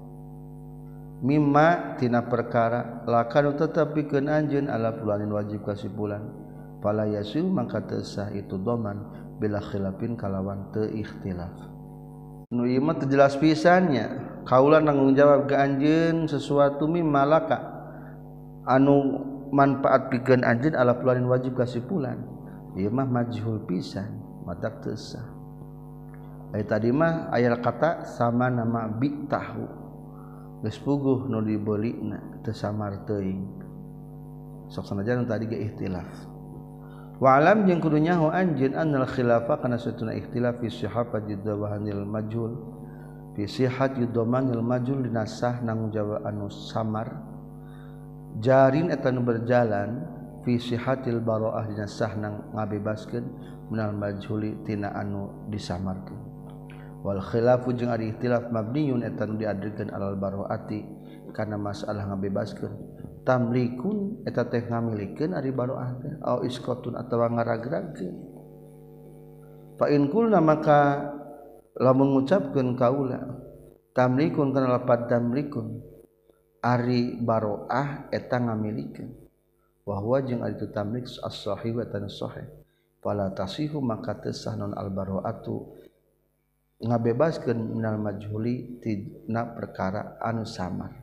mimma tina perkara laka nu tetep pikeun anjeun ala fulanin wajib kasipulan fala yasihu mangka teu sah itu doman bila khilafin kalawan teu ikhtilaf nu ieu mah teu jelas pisannya kaula nanggung jawab ka anjeun sesuatu mimma laka anu manfaat pikeun anjeun ala fulanin wajib kasipulan ieu mah majhul pisan matak teu sah aya tadi mah aya kata sama nama bi tahu geus puguh nu dibeulina teu samar teuing sok sanajan tadi ge ikhtilaf wa alam jeung kudu nyaho anjeun annal khilafa kana satuna ikhtilaf fi sihhat jidwahanil majhul fi sihhat yudmanil majhul dinasah nanggung jawab anu samar jarin eta nu berjalan fi sihhatil bara'ah dinasah nang ngabebaskeun minal majhuli tina anu disamarkeun wal khilafu jeung ari ikhtilaf mabniyun eta nu diadrikeun alal bara'ati kana masalah ngabebaskeun tamlikun eta teh ngamilikeun ari baroah teh au iskotun atawa ngaragragkeun fa in kulna maka lamun ngucapkeun kaula tamlikun kana lapad tamlikun ari baroah eta ngamilikeun wa huwa jeung ari tu tamlik as-sahih wa tan sahih fala tasihu maka teu sah non al baroatu ngabebaskeun minal majhuli tina perkara anu samar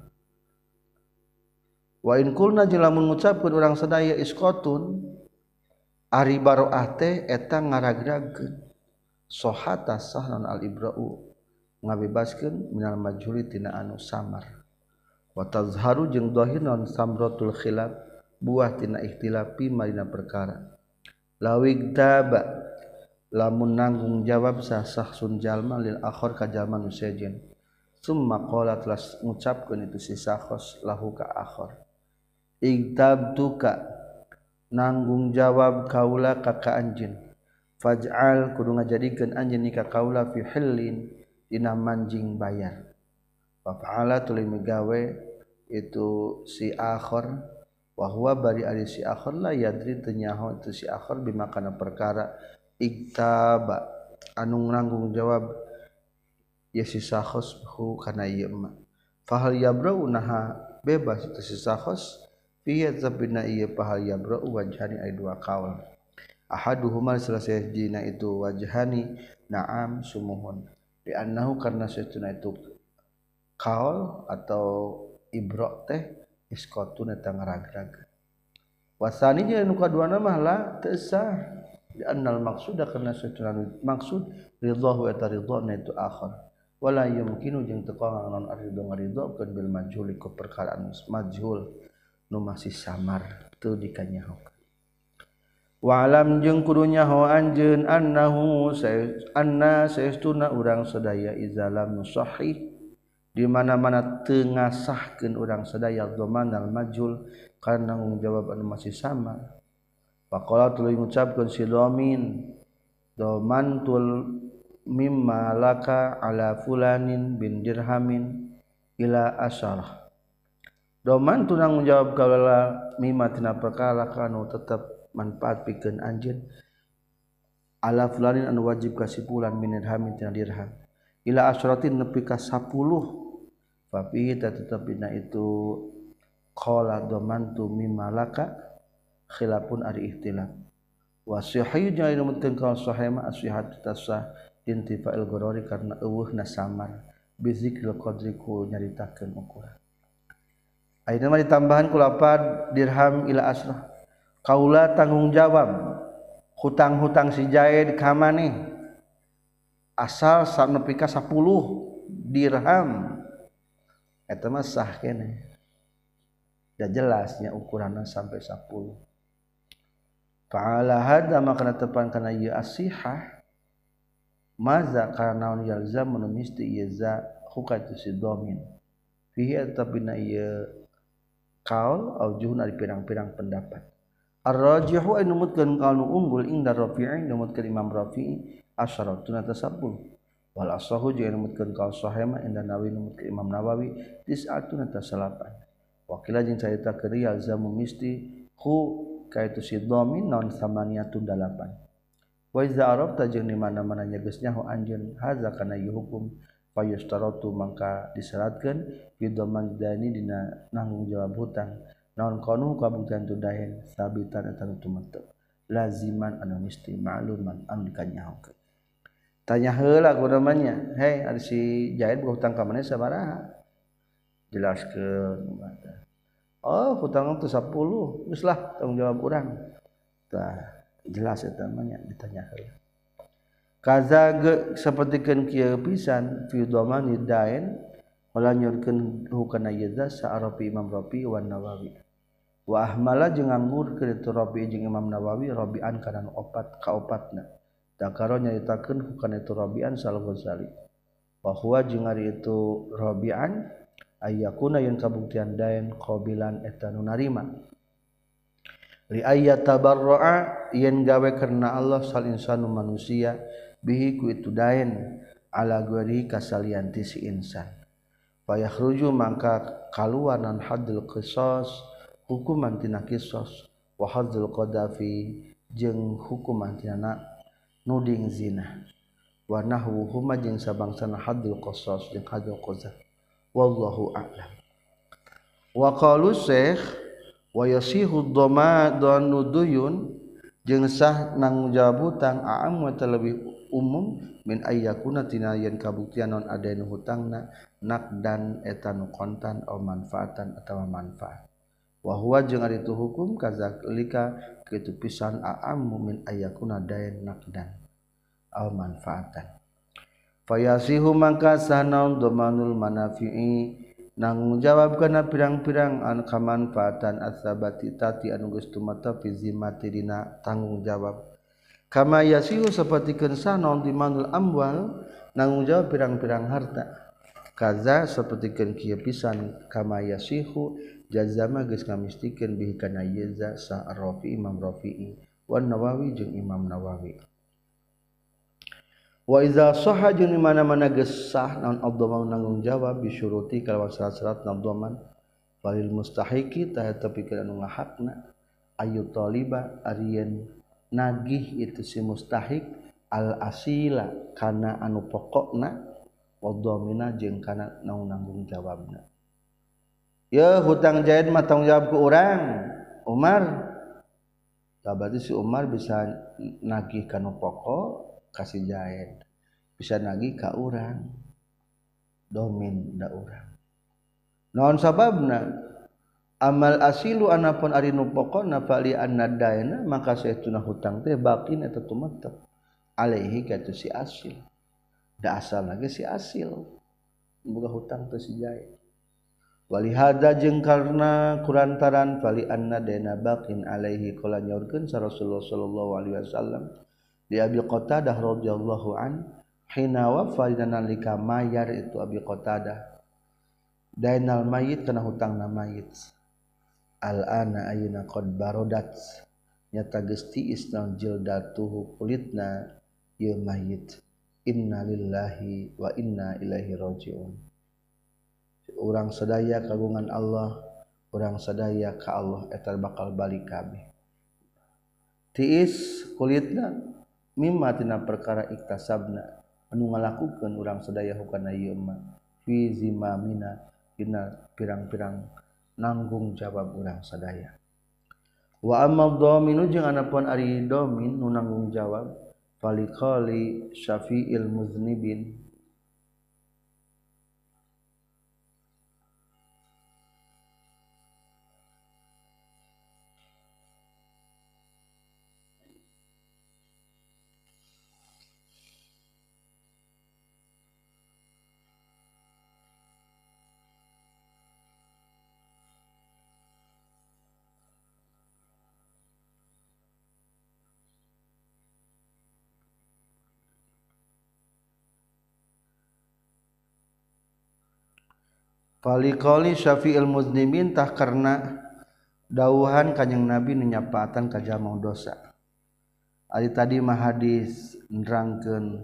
wa in kulna jeung lamun ngucapkeun urang sadaya iskotun ari baroah teh eta ngaragragkeun sohata sahnan al ibra'u ngabebaskeun minal majhuli tina anu samar wa tazharu jeung dhahir naon samratul khilaf buah tina ikhtilaf pi marina perkara lawig taba lamun nanggung jawab sah sahsun jalma lil akhir ka jalma nu sejen summa qala telas ngucapkeun itu si sakhos lahu ka akhir igtabtuka nanggung jawab kaula ka ka anjeun faj'al kudu ngajadikeun anjeun ni ka kaula fi hillin dina manjing bayar wa fa'ala tuluy megawe itu si akhir wa huwa bari ari si akhir la yadri teu nyaho itu si akhir bimakana perkara igtaba anu nanggung jawab ya si sakhos hu kana ieu mah fahal yabrau naha bebas itu si sakhos fiya zabina iya pahal yabra'u wajhani ay dua kaul ahaduhuma selesai jina itu wajhani na'am sumuhun bi annahu karna satuna itu kaul atau ibra' teh iskotun eta ngaragrag wasani jeung nu kaduana mah la teu sah bi annal maqsuda karna satuna maksud ridhahu eta ridhana itu akhir wala yumkinu jeung teu kawangan non ridho ngaridhokeun bil majhul ku perkara anu majhul nu masih samar teu dikanyahokeun wa alam jeung kudu nyaho anjeun annahu anna saestuna urang sadaya izalam nusahih di mana-mana teu ngasahkeun urang sadaya dhamanal majhul kana nanggung jawab anu masih samar faqala tuluy ngucapkeun si dhamin dhamantul mimma laka ala fulanin bin dirhamin ila asyarah doman tu nanggung jawab kaula mimma tina perkara kanu tetep manfaat pikeun anjeun ala fulanin anu wajib kasipulan min dirhamin tina dirham ila asyaratin nepi ka sepuluh fa fi tetepina itu qala dhamantu mimalaka khilafun ari ikhtilaf wa sahih jeung numutkeun ka sahih ma asyihat tasah intifa'il gorori karena eueuhna samar bizikril qadri ku nyaritakeun ukuran ayeuna mah ditambahan ku lapad dirham ila asrah kaula tanggung jawab hutang-hutang si Zaid ka maneh asal sanepi ka sepuluh dirham eta mah sah keneh da jelasnya ukuranna sampai sepuluh fa'ala hadza maka tepan kana ieu asihah maza karena naon yalzam menumisti ieu za hukatu si domin fihi atabina ieu kaul aujuhun ari pirang-pirang pendapat ar-rajihu ay numutkeun kaul nu unggul inda Rafi'i numutkeun Imam Rafi'i asyaratun ata sepuluh wal asahu jeung numutkeun kaul sahih ma inda Nawawi numutkeun Imam Nawawi tis'atun ata salapan wakila jeung carita keur yalzamu misti hu kaitu si domin naon samaniyatun dalapan wa iza arafta jeung di mana-mana nyegeus nyaho anjeun haza kana ieu hukum fayustaratu mangka disyaratkeun bidoman dani dina nanggung jawab hutang naon kanu kabuktian tudahen sabitan eta tumetep laziman anu misti ma'luman anu dikanyahokeun tanya heula ku namanya hei ari si Zaid boga hutang ka maneh sabaraha jelaskeun oh hutang teh sepuluh geus lah tanggung jawab urang tah jelas eta mah nya ditanya heula kaza sapertikeun kieu pisan fi dhamani dain wala nyurkeun hukana yadza sa'arafi Imam Rafi wa Nawawi wa ahmala jeung nganggurkeun itu Rafi jeung Imam Nawawi Rabi'an kana opat ka opatna dakaro nyaritakeun hukana itu Rabi'an sal Ghazali wa huwa jeung ari itu Rabi'an ayyakuna yang kabuktian dain qabilan eta nu narima li ayat tabarra'a yen gawe karena Allah sal insanu manusia bihi ku itu dain ala ghairi kasalianti si insan fa yakhruju mangka kaluanan haddul qisas hukuman tina qisas wa haddul qadafi jeung hukuman tina nuding zina wa nahwuhuma jeung sabangsana haddul qisas jeung haddul qadaf wallahu a'lam wa qalu syekh wa yasihu dhamadun duyun jeung sah nanggung jawab hutang a'am wa lebih umum min ayyakuna tina yen kabuktian non adain hutangna naqdan eta nu kontan atau manfaatan atawa manfaat wa huwa jeung ari tu hukum kazalika kitu pisan a'am min ayyakuna dain naqdan aw manfaatan fayasihu mangka sanaun dhamanul manafi'i nanggung jawab kana pirang-pirang anu kamanfaatan asabati tati anu geus tumata fi zimmati dina tanggung jawab kama yasihu sapertikeun sanon di manul amwal nanggung jawab pirang-pirang harta kaza sapertikeun kieu pisan kama yasihu jazama geus ngamistikeun bihi kana yaza sa Rafi Imam Rafi'i wan Nawawi jeung Imam Nawawi wa iza sahha jeung di mana-mana geus sah naon adzaman nanggung jawab bisyuruti kalawan syarat-syarat nadzaman walil mustahiqi tah eta pikeun anu ngahakna ayu taliba arieun nagih itu si mustahiq al asila kana anu pokokna wa dhamina jeung kana nanggung jawabna ya hutang Zaid mah tanggung jawab ku urang Umar tah berarti si Umar bisa nagih kana pokok kasih Zaid bisa nagih ka urang domin da urang naon sababna amal asilu anapun ari nu pokona fali annadaina maka saestuna hutang teh baqin eta tumetep alaihi katu si asil da asal lagi si asil boga hutang teh si Zaid wali hada jeung karna kurantaran fali annadaina baqin alaihi qala nyaurkeun sa Rasulullah sallallahu alaihi wasallam di Abi Qatadah radhiyallahu an hina wafa nalika mayar itu Abi Qatadah dainal mayit kana hutangna mayit al ana ayuna qad barodat nyata geus tiis naon jildatuhu kulitna ieu mayit inna lillahi wa inna ilaihi rajiun urang sadaya kagungan Allah urang sadaya ka Allah eta bakal balik kabeh tiis kulitna mimma tina perkara iktasabna anu ngalakukeun urang sadaya hukana ieu mah fi zimamina dina pirang-pirang nanggung jawab urang sadaya. Wa amma dhaminu jeung anapun ari dhamin nu nanggung jawab faliqali syafi'il muznibin Falikoli syafi'il muslimin tah karena dawuhan kanjing Nabi nu nyapaatan ka jalma dosa. Ari tadi mah hadis nerangkeun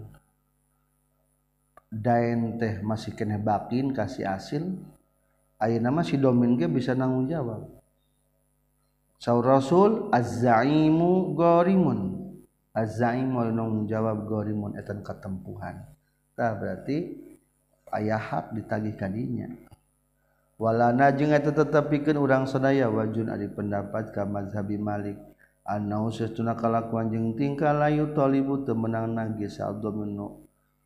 daen teh masih keneh bakin kasih asil. Ayeuna mah si domin ge bisa nanggung jawab. Saur Rasul az-zaimu gharimun. Az-zaimu nanggung jawab gharimun etan katempuhan. Tah berarti aya hak ditagih ka dinya. Walana jeung eta tetepikeun urang sadaya wajun ari pendapat ka mazhabi Malik annau satuna kalakuan jeung tingkah layu talibu teu meunang nagih sa'adhaminu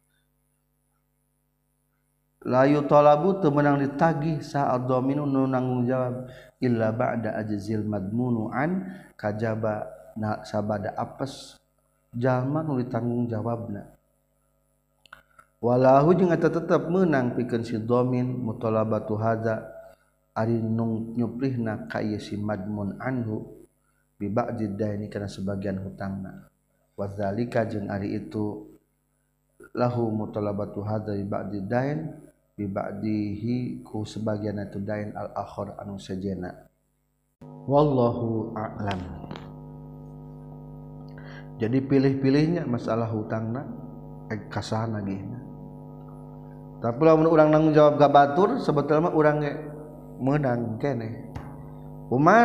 layu talabu teu meunang ditagih sa'adhaminu nu nanggung jawab illa ba'da ajzil madmunu an kajaba na sabada apes jalma nu ditanggung jawabna. Walahu jeung eta tetep meunang pikeun si dhamin mutalabatu hadza ari nu nyuplihna ka ieu si madmun anhu bi ba'di daini kana sebagian hutangna. Wadzalika jeung ari itu lahu mutalabatu hadza bi ba'di dain bi ba'dihi ku sebagian itu dain al akhir anu sajena. Wallahu a'lam. Jadi pilih-pilihnya masalah hutangna eh, kasahan lagi. Tapi lamun urang nanggung jawab gak batur sebetulnya mah urang ge meunang keneh. Umar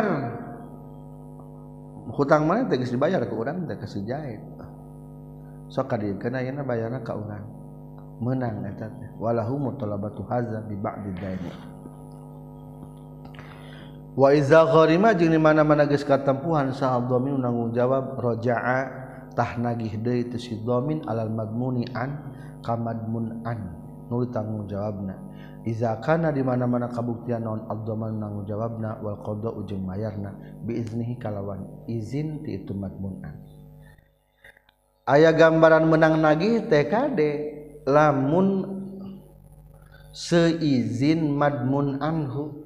hutang mana teh geus dibayar ke urang teh ka si Zaid. Sok kadiekeun ayeuna bayarna ka urang. Meunang eta teh. Walahu mutalabatu hadza bi ba'di dain. Wa iza gharima jeung di mana-mana geus katempuhan saha dhamin nanggung jawab raja'a tah nagih deui tu si dhamin alal madmuni an ka madmun an. Nu tanggung jawabna iza kana di mana-mana kabuktian naon ad-dhaman nanggung jawabna wal qada ujung mayarna bi iznihi kalawan izin ti itu madmunan. Aya gambaran menang nagih T K D lamun seizin madmun anhu.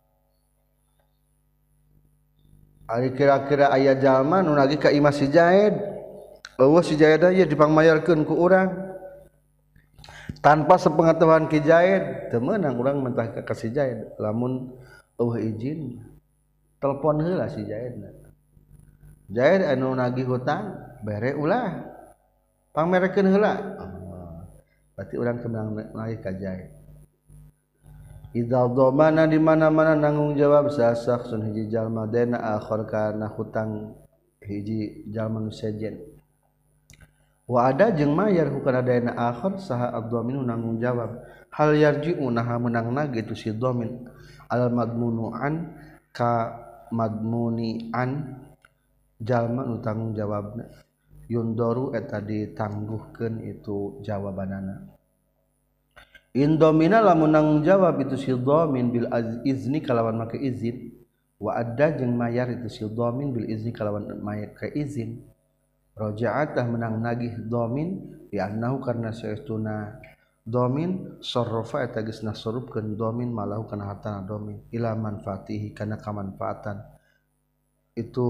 Ari kira-kira aya jalma nu nagih ka imah si Zaid, eueuh si Zaid aya dipangmayarkeun ku urang tanpa sepengetahuan Ki Zaid teu meunang urang mentah ka si Zaid lamun eueuh izin telepon heula si Zaidna. Zaid anu nagih hutang bere ulah pangmerekeun heula. Berarti urang teu meunang nagih ka Zaid. Idza dhamana di mana-mana nanggung jawab sasaksun hiji jalma dena akhir kana hutang hiji jalma nu sejen. Wa ada jeung mayar hukana dayana akhir saha ad-dhaminu nanggung jawab hal yarji'u naha menang nagih tu si dhamin al madmunu an ka madmuni an jalma nu tanggung jawabna yundaru eta ditangguhkeun itu jawabanana. In dhamina lamun nanggung jawab itu si dhamin bil izni kalawan make izin wa ada jeung mayar itu si dhamin bil izni kalawan mayar ke izin. Raja'atah menang nagih dhamin bi annahu karna saestuna dhamin sarrafa eta geus nasarupkeun dhamin malahu kana hartana dhamin ila manfaatihi kana kamanfaatan itu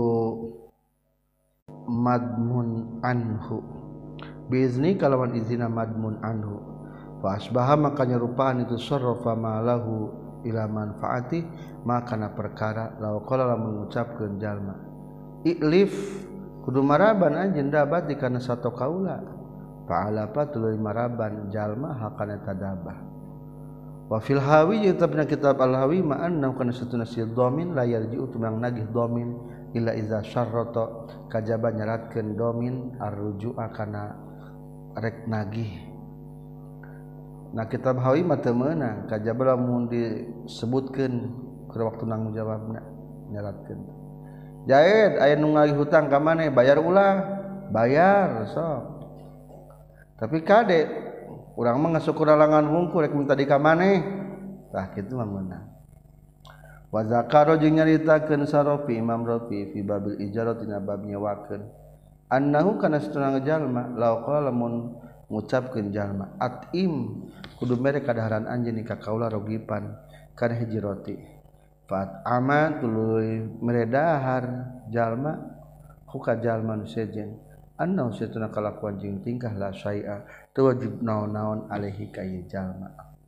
madmun anhu biizni kalawan izina madmun anhu fa asbaha maka nyarupaan itu sarrafa malahu ila manfaati maka kana perkara law qala lamun ngucapkeun jalma iklif kudu maraban anjeun dabat di kana sato kaula fa'ala fa tuluy maraban jalma hakana tadabah wa fil hawi tabna kitab al hawi ma anna kana satuna si dhamin la yarji'u tumang nagih dhamin illa iza syarrata kajaba nyaratkeun dhamin arruju'a kana rek nagih nah kitab hawi mah teu meunang kajaba lamun disebutkeun keur waktu nanggung jawabna nyaratkeun Jaid aya nu ngagih hutang ka maneh bayar ulah bayar sok tapi kade urang mah ngasuk kuralangan wungkul rek minta di ka maneh tah kitu mah meunang wa zakaro jeung nyaritakeun sarofi Imam Rafi fi babil ijarah tina bab nyewakeun annahu kana satuna jalma law qala lamun ngucapkeun jalma atim kudu mere kadaharan anjeun ka kaula rogipan kana hiji roti fat ama tuluy mere dahar jalma huka jalma nu sejen annahu satuna kalakuan jeung tingkah la syai'a teu wajib naon-naon alaihi ka ieu jalma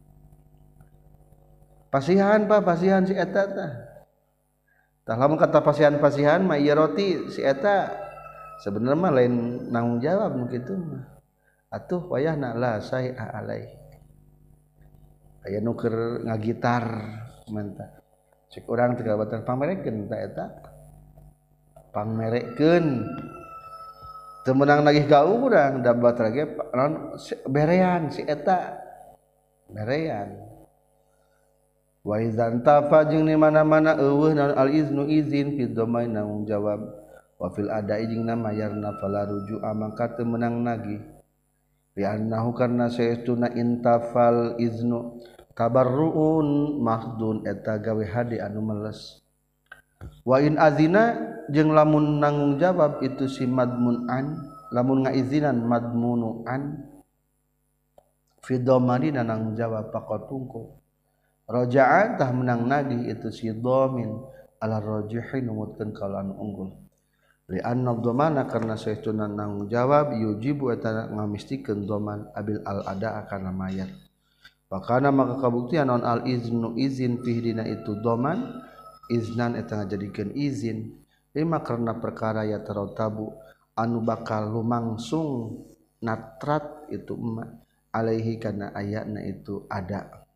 pasihan pa pasihan si eta tah tah lamun kata pasihan-pasihan mah ieu roti si eta sebenarnya mah lain nanggung jawab nu kitu mah atuh wayahna la syai'a alaihi aya nu keur ngagitar mantap cek urang teu kabatan pamerekeun ta eta pamerekeun teu meunang nagih ka urang da batur ge berean si eta berean wa idzan tafa jeung di mana-mana eueuh naon al iznu izin fi dhamain nanggung jawab wa fil ada'i jeung na mayarna fala ruju'a mangka teu meunang nagih li annahu karna saestuna intafal iznu tabarruun mahdun eta gawe hade anu meles wa in azina jeung lamun nanggung jawab itu si madmun an lamun ngaizinan madmunu an fi dhamani nanggung jawab pakotungku raja'an tah menang nagih itu si dhamin ala rajihin numutkeun kaula anu unggul li anna dhamana karna saestuna nanggung jawab yujibu eta ngamistikeun dhaman abil al ada kana mayar pakana maka kabuktian naon al iznu izin fihi dina itu dhaman iznan eta ngajadikeun izin lima karena perkara ya tarotabu anu bakal lumangsung natrat itu emak alaihi kana ayatna itu ada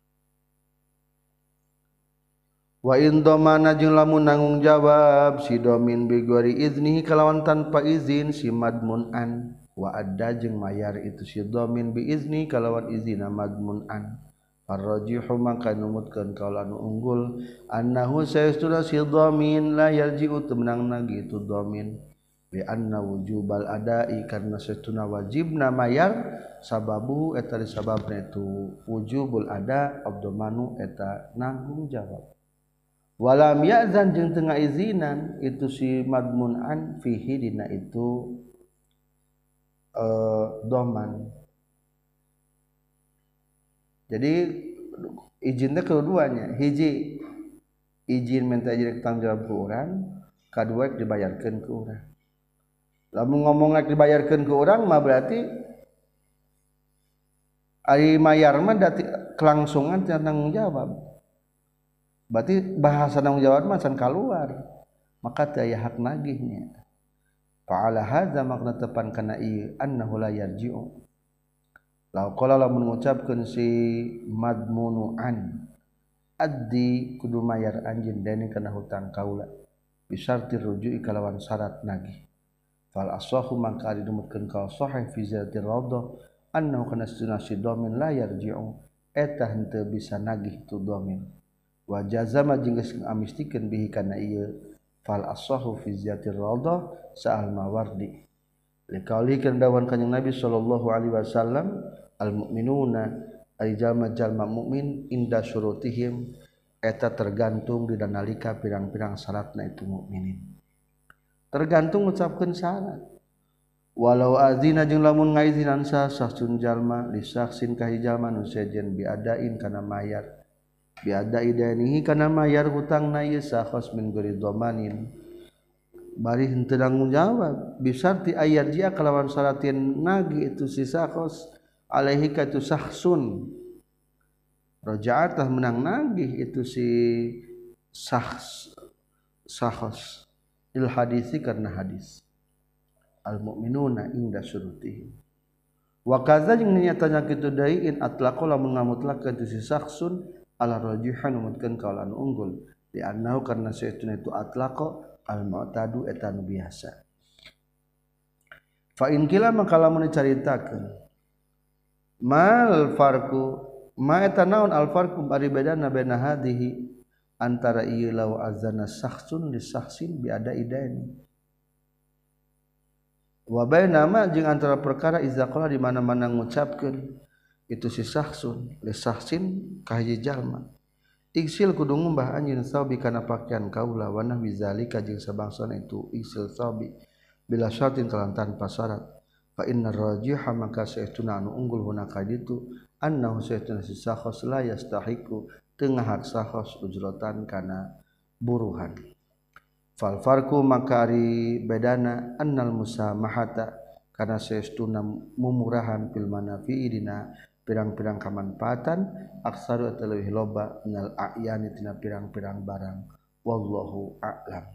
wa in dhamana jeung lamun nanggung jawab si domin bi ghairi iznihi kalawan tanpa izin si madmun an wa adda jeung mayar itu si domin bi izni kalawan izina madmun an farrajihu maka numutkeun kaula anu unggul annahu saestuna si dhamin la yarji'u teu menang nagi itu dhamin bi anna wujubal ada'i karna saestuna wajibna mayar sababu eta disababna itu wujubul ada abdomanu eta nanggung jawab walam ya'zan jeung teu ngaizinan itu si madmun an fihi dina itu eh dhaman jadi izin teh keduanya hiji izin minta izin tanggung jawab ke urang kadua dibayarkeun ke urang lamun ngomong rek dibayarkeun ke urang mah berarti ari mayar mah dati kelangsungan teh tanggung jawab berarti bahasa tanggung jawab mah can kaluar maka teu aya hak nagihnya fa'ala hadza makna tepan kana ieu annahu la yarji'u law qala lamun ngucapkeun si madmunu an addi kudu mayar anjeun deni kana hutang kaula bisarti ruju'i kalawan syarat nagih fal asahu mangka didumutkeun ka sahih fi zati radah annahu kana sunasi dhamin la yarji'u eta henteu bisa nagih tu dhamin wa jazama jeung geus ngamistikeun bihi kana ieu fal asahu fi zati radah sa'al mawardi liqauli kan dawan kanjing Nabi sallallahu alaihi wasallam al mukminuna ay jalma-jalma mukmin inda syurutihim eta tergantung di nalika pirang-pirang syaratna itu mukminin tergantung ngucapkeun syarat walau azina jeung lamun ngaizinan sah sahsun jalma li saksin ka jalma nu sejen biadain kana mayar biadai danihi kana mayar hutangna ieu sakhos min ghairi dhamanin bari henteu tanggung jawab bisarti ayat dia kalawan syaratin nagi itu si sakhos alaihi ka itu sahsun raja'atah menang nagih itu si sahs sakhos il hadisi karena hadis al mukminuna inda syurutihim wa kaza jeung nyatana kitu deui in atlaqo lamun ngamutlakeun itu si sahsun ala rajihan numutkeun kaul anu unggul di annahu karna saestuna itu atlaqo al mu'tadu eta nu biasa fa in kila maka lamun dicaritakeun mal farqu ma eta naon al farqu bari bedana baina hadhihi antara ieu law azana sakhsun li sakhsin bi ada idaini wa baina ma jeung antara perkara iza qala di mana-mana ngucapkeun itu si sakhsun li sakhsin ka hiji jalma iksil kudu ngumbah anjeun saubi kana pakaian kaula wa nahwi zalika jeung sabangsana itu iksil saubi bila syartin kelantan pasarat fa innar rajiha maka saestuna anu unggul hunaka ditu annahu saestuna si sakhos la yastahiqu teu ngahak sakhos ujratan kana buruhan fal farqu maka ari bedana annal musamahata kana saestuna mumurahan fil manafi'i dina pirang-pirang kamanfaatan aksaru atau lebih loba minal a'yani tina pirang-pirang barang wallahu a'lam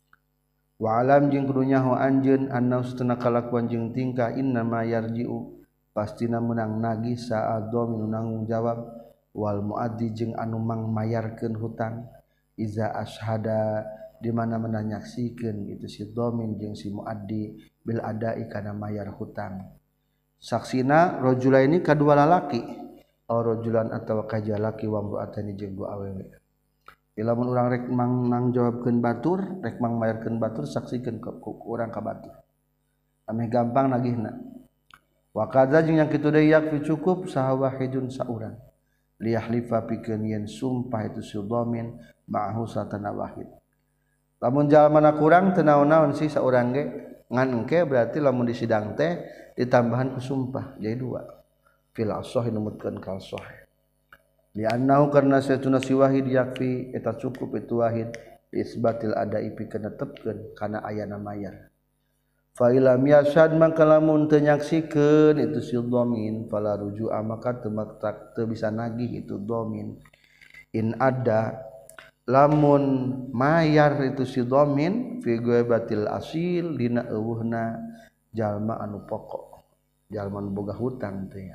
wa alam jeung kudu nyaho anjeun anna ustuna kalakuan jeung tingkah innama yarji'u pastina meunang nagih sa'adzamin nanggung jawab wal muaddi jeung anu mangmayarkeun hutang iza ashada di mana menanyaksikeun itu si dhamin jeung si muaddi bil adai kana mayar hutang saksina rajulaini kadua lalaki aw rajulan atawa kaja laki wa mbuatani jeung dua awewe lamun urang rek mang nang jawabkeun batur rek mang mayarkeun batur saksikeun ku urang ka batur ameh gampang nagihna wa kadza jeung yang kitu deui yakfi cukup saha wahidun saurang liyahlifa pikeun yen sumpah itu si dhamin ma'ahu satana wahid lamun jalmana kurang teu naon-naon sih saurang ge ngan engke berarti lamun di sidang teh ditambahan ku sumpah jadi dua fil ashah numutkeun kal sahih li annahu karna satuna si wahid yakfi eta cukup itu wahid isbatil adai pikeun netepkeun kana ayana mayar fa ilam yashad maka lamun teu nyaksikeun itu si dhamin fala ruju'a maka teu teu bisa nagih itu dhamin in ada lamun mayar itu si dhamin fi ghaibatil asil dina eueuhna jalma anu pokok jalma anu boga hutang teh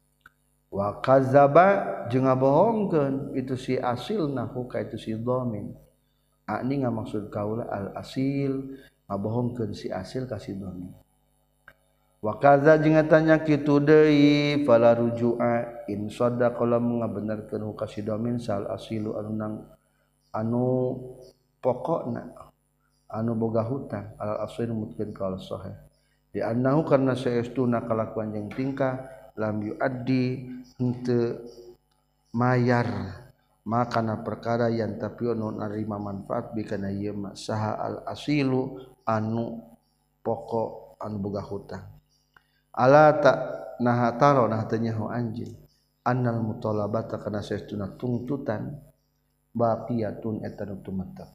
wa kadzaba jeung ngabohongkeun itu si asil nahu ka itu si dhamin ani ngamaksud kaula al asil ngabohongkeun si asil ka si dhamin wa kadza jeung tanya kitu deui fala rujua in sadaqa lam ngabenerkeun ka si dhamin sal asilu anu nang anu pokokna anu boga hutang al asil mutkeun ka al sahih di annahu karna saestuna kalakuan jeung tingkah lam yuaddi henteu mayar makana perkara yang tapi anu narima manfaat bikana ieu mah saha al asilu anu pokok anu boga hutang ala ta nah taro nah teu nyaho anjeun annal mutalabata kana saestuna tungtutan baqiyatun eta nu tumetep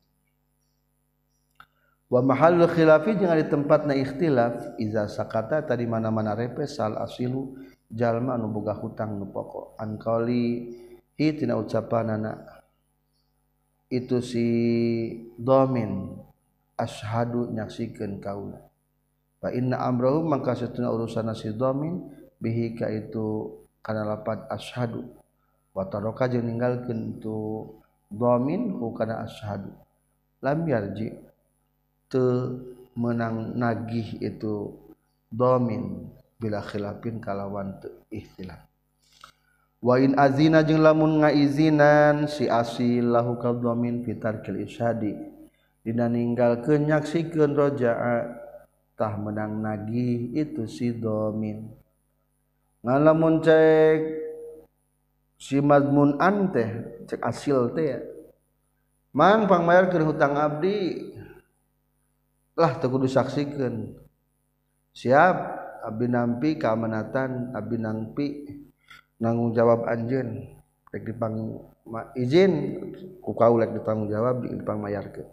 wa mahallul khilafi jeung ari tempatna ikhtilaf iza sakata tadi mana-mana repes sal asilu jalma anu boga hutang nu pokok an qauli hitina ucapanana itu si dhamin ashhadu nyaksikeun kaula fa inna amrahu mangka satuna urusanna si dhamin bihi ka itu kana lapat ashhadu wa taraka jeung ninggalkeun itu dhamin ku kana ashhadu lam yarji teu menang nagih itu dhamin bila khilafin kalawan teu ikhtilaf wa in azina jeung lamun ngaizinan si asil lahu ka dhamin fitarkil isyadi dina ninggalkeun nyaksikeun roja'a tah menang nagih itu si dhamin ngalamun cek si madmun an teh cek asil teh mang pangmayarkeun hutang abdi lah teu kudu saksikeun siap abdi nampi keamanatan abdi nampi nanggung jawab anjeun rek dipang izin ku kaula rek ditanggung jawab dipang mayarkeun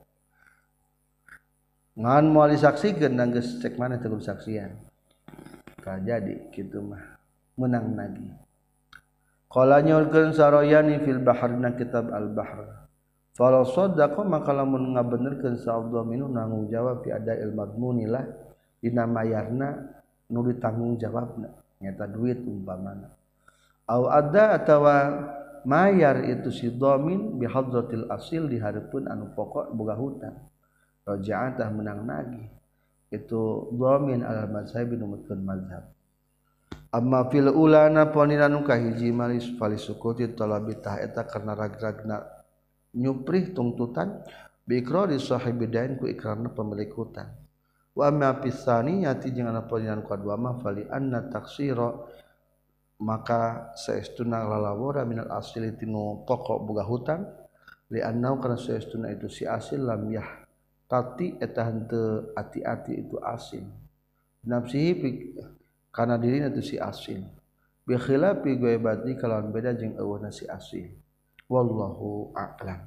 ngan moal disaksikeun dan geus cek maneh teu kudu saksian ka jadi kitu mah menang nagih qala nyorkeun saroyani fil bahrina kitab al bahr fala saddaqa maka lamun ngabenerkeun sa'adha minu nanggung jawab fi ada il madmunilah dina mayarna nu ditanggung jawabna nyata duit umpamana au ada atawa mayar itu si dhamin bi hadratil asil di hareupeun anu pokok boga hutang raja'atah menang nagih itu dhamin al mazhab numutkeun mazhab amma fil ulana ponina nu kahiji malis falisukuti talabi tah eta karena rag-ragna nyuprih tuntutan bi iqrari sahibidain ku ikrarna pemilik hutang wa amma pisani yati jeung ana ponina nu kadua mah fali anna taksira maka saestuna lalawora minal asli tinu pokok boga hutang li annau kana saestuna itu si asil lam yah tati eta henteu ati-ati itu asil nafsihi kana dirina itu si asil bi khilafi ghaibati kalawan beda jeung eueuhna si asil wallahu a'lam.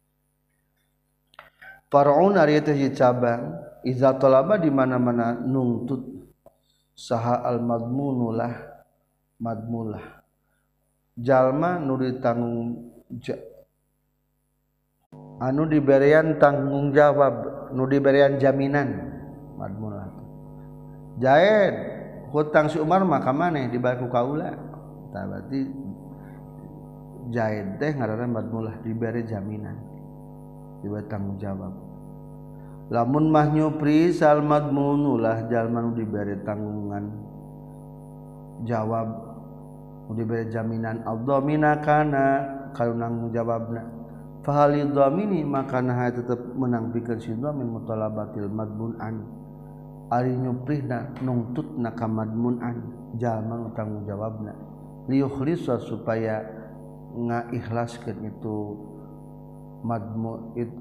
Far'un ari teh cabang iza talaba di mana-mana nungtut saha al madmunulah madmulah jalma nu ditanggung anu diberian tanggung jawab nu diberian jaminan madmulah jaed hutang si Umar mah ka maneh dibayar ku kaula tah berarti jaed teh ngaranna madmulah diberi jaminan diberi tanggung jawab lamun mah nyupri sal madmunulah jalma nu diberi tanggungan jawab nu diberi jaminan ad-dhamina kana kalau nanggung jawabna fahali dhamini maka nah tetep menang pikeun si dhamin mutalabatil madmun an ari nyuprihna nungtutna ka madmun an jalma nu tanggung jawabna liyukhlisa supaya ngaikhlaskeun itu madmun it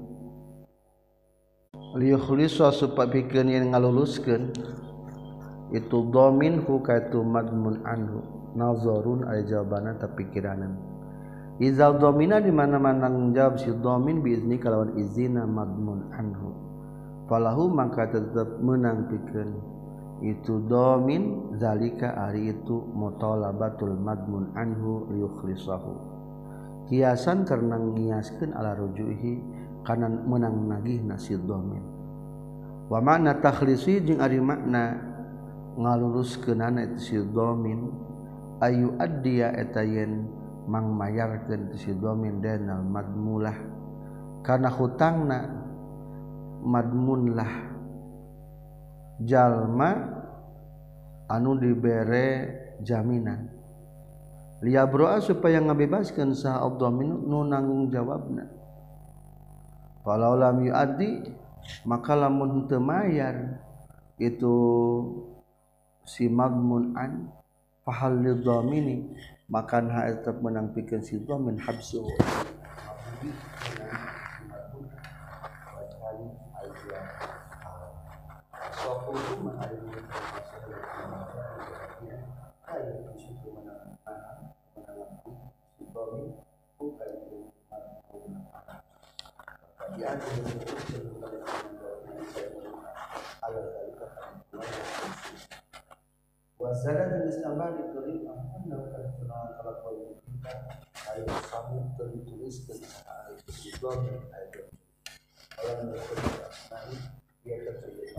liyukhlisa supaya pikeun yen ngaluluskeun itu dhamin hu ka itu madmun anhu nazarun ay jawabana tapi pikiranan izal dhamina di mana-mana menjawab si dhamin biizni kalawan izina madmun anhu falahu maka tetap menang pikeun itu dhamin zalika ari itu mutalabatul madmun anhu liyukhlisahu kiasan karena ngiaskeun ala rujuhi kana menang nagihna si dhamin wa makna takhlisi jeung ari makna ngaluluskeunana itu si dhamin ayu addiya eta yen mang mayarkeun si dhamin danal madmulah kana hutangna madmunlah jalma anu dibere jaminan liyabroa supaya ngabebaskeun saha dhamin nu nanggung jawabna falau lam yuaddi maka lamun teu mayar itu si madmun an fahal lidhamini maka ha tetap menang pikeun si dhamin habsu wasada jenis tambah ditulis anda kenal kalau kalau kita ayo sambung tertulis dari itu ayat kalau berkata nanti dia terjadi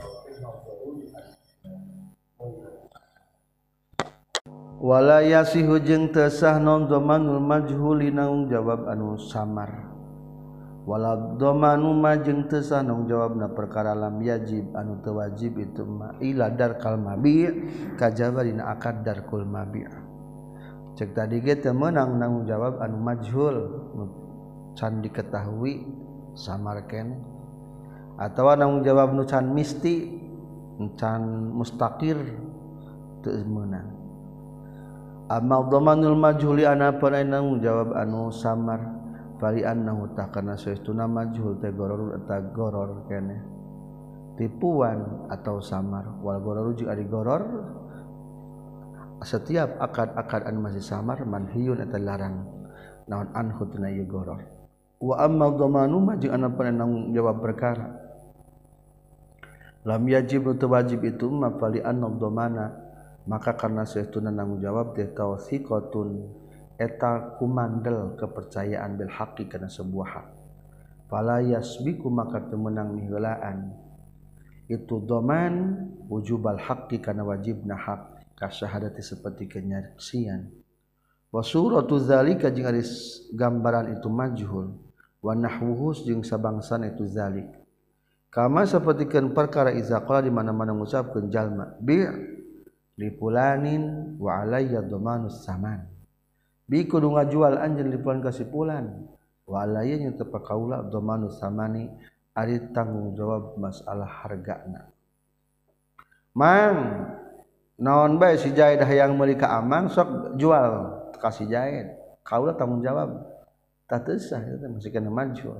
wala yasihu jeung teu sah non dhamanul majhuli nanggung jawab anu samar wala dhamanu ma jeung teu sah nanggung jawabna perkara lam yajib anu teu wajib itu ma ila darkal mabi' kajaba dina akad darkul mabi' cek tadi ge teu meunang nanggung jawab anu majhul nu can diketahui samar keneh atawa nanggung jawab nu can misti can mustaqir teu meunang amal dhamanul majhuli ana panain nanggung jawab anu samar fali annahu takana saestuna majhul teh goror eta goror keneh tipuan atau samar wal goror jeung ari goror setiap akad-akad anu masih samar manhiyun eta larang naon anhu tina ieu goror wa amma dhamanu ma jeung ana panang jawab perkara lam yajib teu wajib itu ma fali anna dhamana maka karena saestuna nanggung jawab teh tawsiqatun eta kumandel kepercayaan bil haqqi kana sebuah hak fala yasbiku maka teu meunang miheulaan itu dhaman wujubal haqqi kana wajibna hak ka syahadati seperti kenyaksian wa suratu zalika jeung ari gambaran itu majhul wa nahwuhu jeung sabangsana itu zalik kama sapertikeun perkara iza qala di mana-mana ngucapkeun jalma bi li fulanin wa alayya dhamanus saman bi kudu ngajual anjeun li fulan ka si fulan wa alayya nya teu pakaula dhamanus samani ari tanggung jawab masalah hargana. Mang naon bae si Jaid hayang meuli ka Amang sok jual ka si Jaid kaula tanggung jawab tah teu sah eta masih kana majul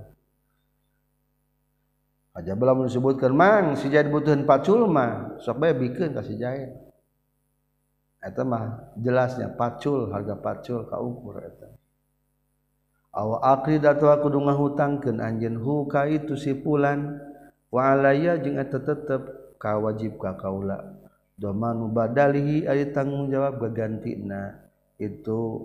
aja bala mun disebutkeun mang si Jaid butuhan pacul mah sok bae bikeun ka si Jaid eta mah jelasnya pacul harga pacul kaukur eta aw aqrid atau kudu ngahutangkeun anjeun hu ka itu si fulan wa alayya jeung eta tetep ka wajib ka kaula domanu badalihi ari tanggung jawab gagantina itu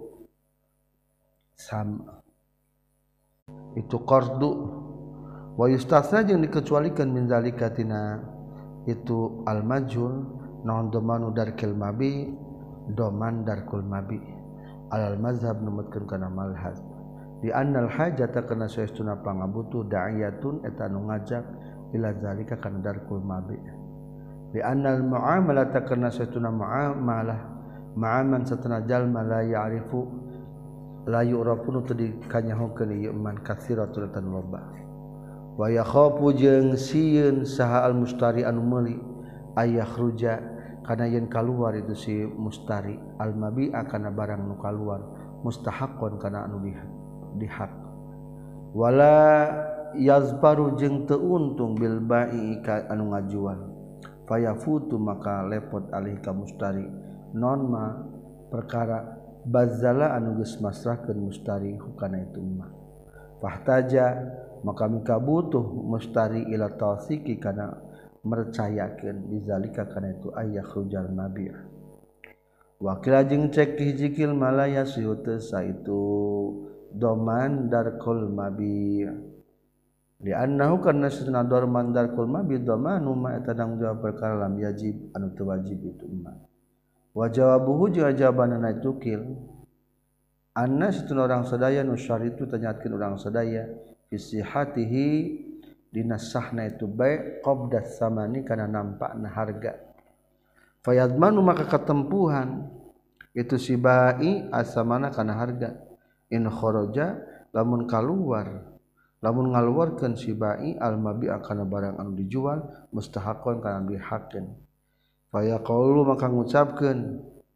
sama itu qardu wa yustasna jeung dikecualikeun min zalika tina itu al majhul naon domanu darkil mabi doman darkul mabi alal mazhab numutkeun kana malhab di annal hajata kana saestuna pangabutuh da'iyatun eta nu ngajak ila zalika kana darkul mabi di annal muamalata kana saestuna muamalah ma'aman satana jalma la ya'rifu la yu'rafun teu dikanyahokeun ieu man katsiratul tan loba wa yakhafu jeung sieun saha al mustari anu meuli ayakhruja kana yen kaluar itu si mustari al mabi'a kana barang nu kaluar mustahaqqan kana anu dihak wala yazbaru jeung teu untung bil ba'i ka anu ngajual fayafutu maka lepot alih ka mustari non ma perkara bazala anu geus masrahkeun mustari hukana itu mah fahtaja maka mika butuh mustari ila tawsiki kana mercayakeun bizalika kana itu ayah khujal nabi wakil jeung cek hijikil malaya siute sa itu doman darkul mabi li annahu kana satuna dorman darkul mabi domanu ma eta tanggung jawab perkara lam yajib anu teu wajib itu mah wa jawabuhu jeung jawabanna itu kil anna satuna urang sadaya nu syaritu tanyakeun urang sadaya fi sihatihi dina sahna itu bae qabdas samani kana nampakna harga fayadmanu maka katempuhan itu si bai asamana kana harga in kharaja lamun kaluar lamun ngaluarkeun si bai al mabi'a kana barang anu dijual mustahaqqan kana dihakeun faya qaulu maka ngucapkeun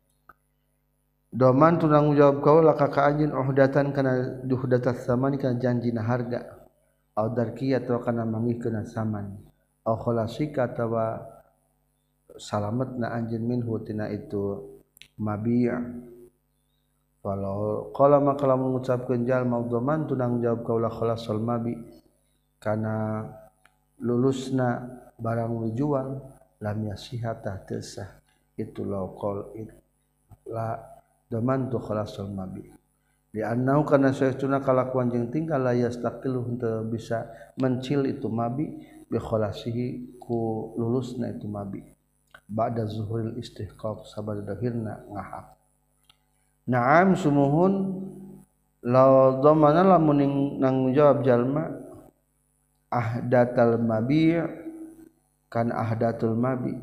doman tu tanggung jawab kaula ka ka anjeun uhdatan kana duhdatas samani kana janjina harga au darkiyah atau kana mangihkeun saman au khalasika atawa salametna anjeun minhu tina itu mabi' walau qala maka lamun ngucapkeun jalma doman tu tanggung jawab kaula khalasul mabi kana lulusna barang dijual lam yasihata tasah itu laqal la doman tu khalasul mabi di annau kana saestuna kalakuan jeung tingkah la yastaqilu henteu bisa mencil itu mabi bi khalasihi ku lulusna itu mabi ba'da zuhuril istihqaq sabada dahirna ngahak na'am sumuhun law dhamana lamun nanggung jawab jalma ahdatal mabi' kan ahdatul mabi'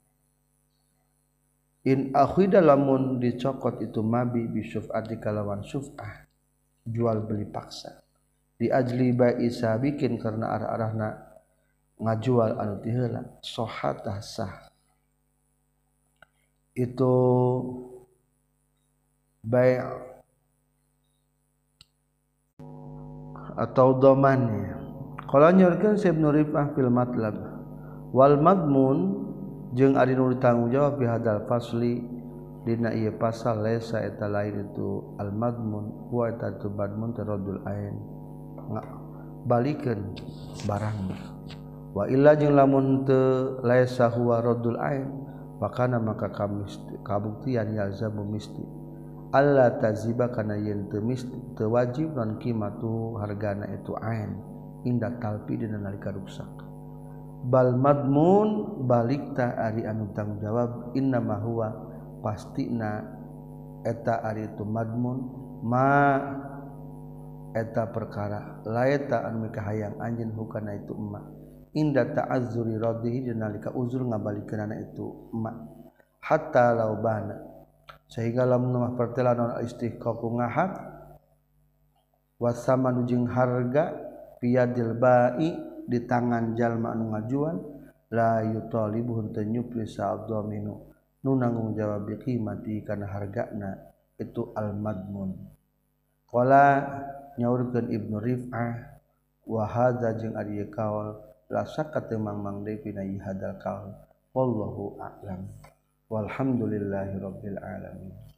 in akhida lamun dicokot itu mabi bi syuf'ati kalawan syuf'ah jual beli paksa di ajli ba'i sabikin karena arah-arahna ngajual anu ti heula sohatah sah itu bai' atau dhamannya qala nyorkeun Ibnu Rif'ah fil matlab wal madmun jeung ari nu ditanggung jawab bi hadal fasli dina ieu pasal laisa eta lain itu al madmun wa eta tu madmun taradul ain balikeun barang wa illa jeung lamun teu laisa huwa radul ain fakana maka kabuktian yalzamu misti alla taziba kana yen teu misti teu wajib non qimatu hargana itu ain inda talpi dina nalika rusak bal madmun balikta ari anu tanggung jawab innama huwa pastina eta ari itu madmun ma eta perkara laeta anu kahayang anjeun hukana itu emak inda ta'azzuri radhihi nalika uzur ngabalikeunana itu emak hatta laubana sehingga lamun mah pertelan non istiqaq ngahak wasaman jeung harga piadil bai di tangan jalma anu ngajuan la yutalibuhun teu nyupri sa'dhaminu nu nanggung jawab bi qimati kana hargana itu al madmun qala nyaurkeun Ibnu Rif'ah wa hadza jeung ari kaul la syakka teu mangmang deui pina hadal kaul wallahu a'lam walhamdulillahirabbil alamin.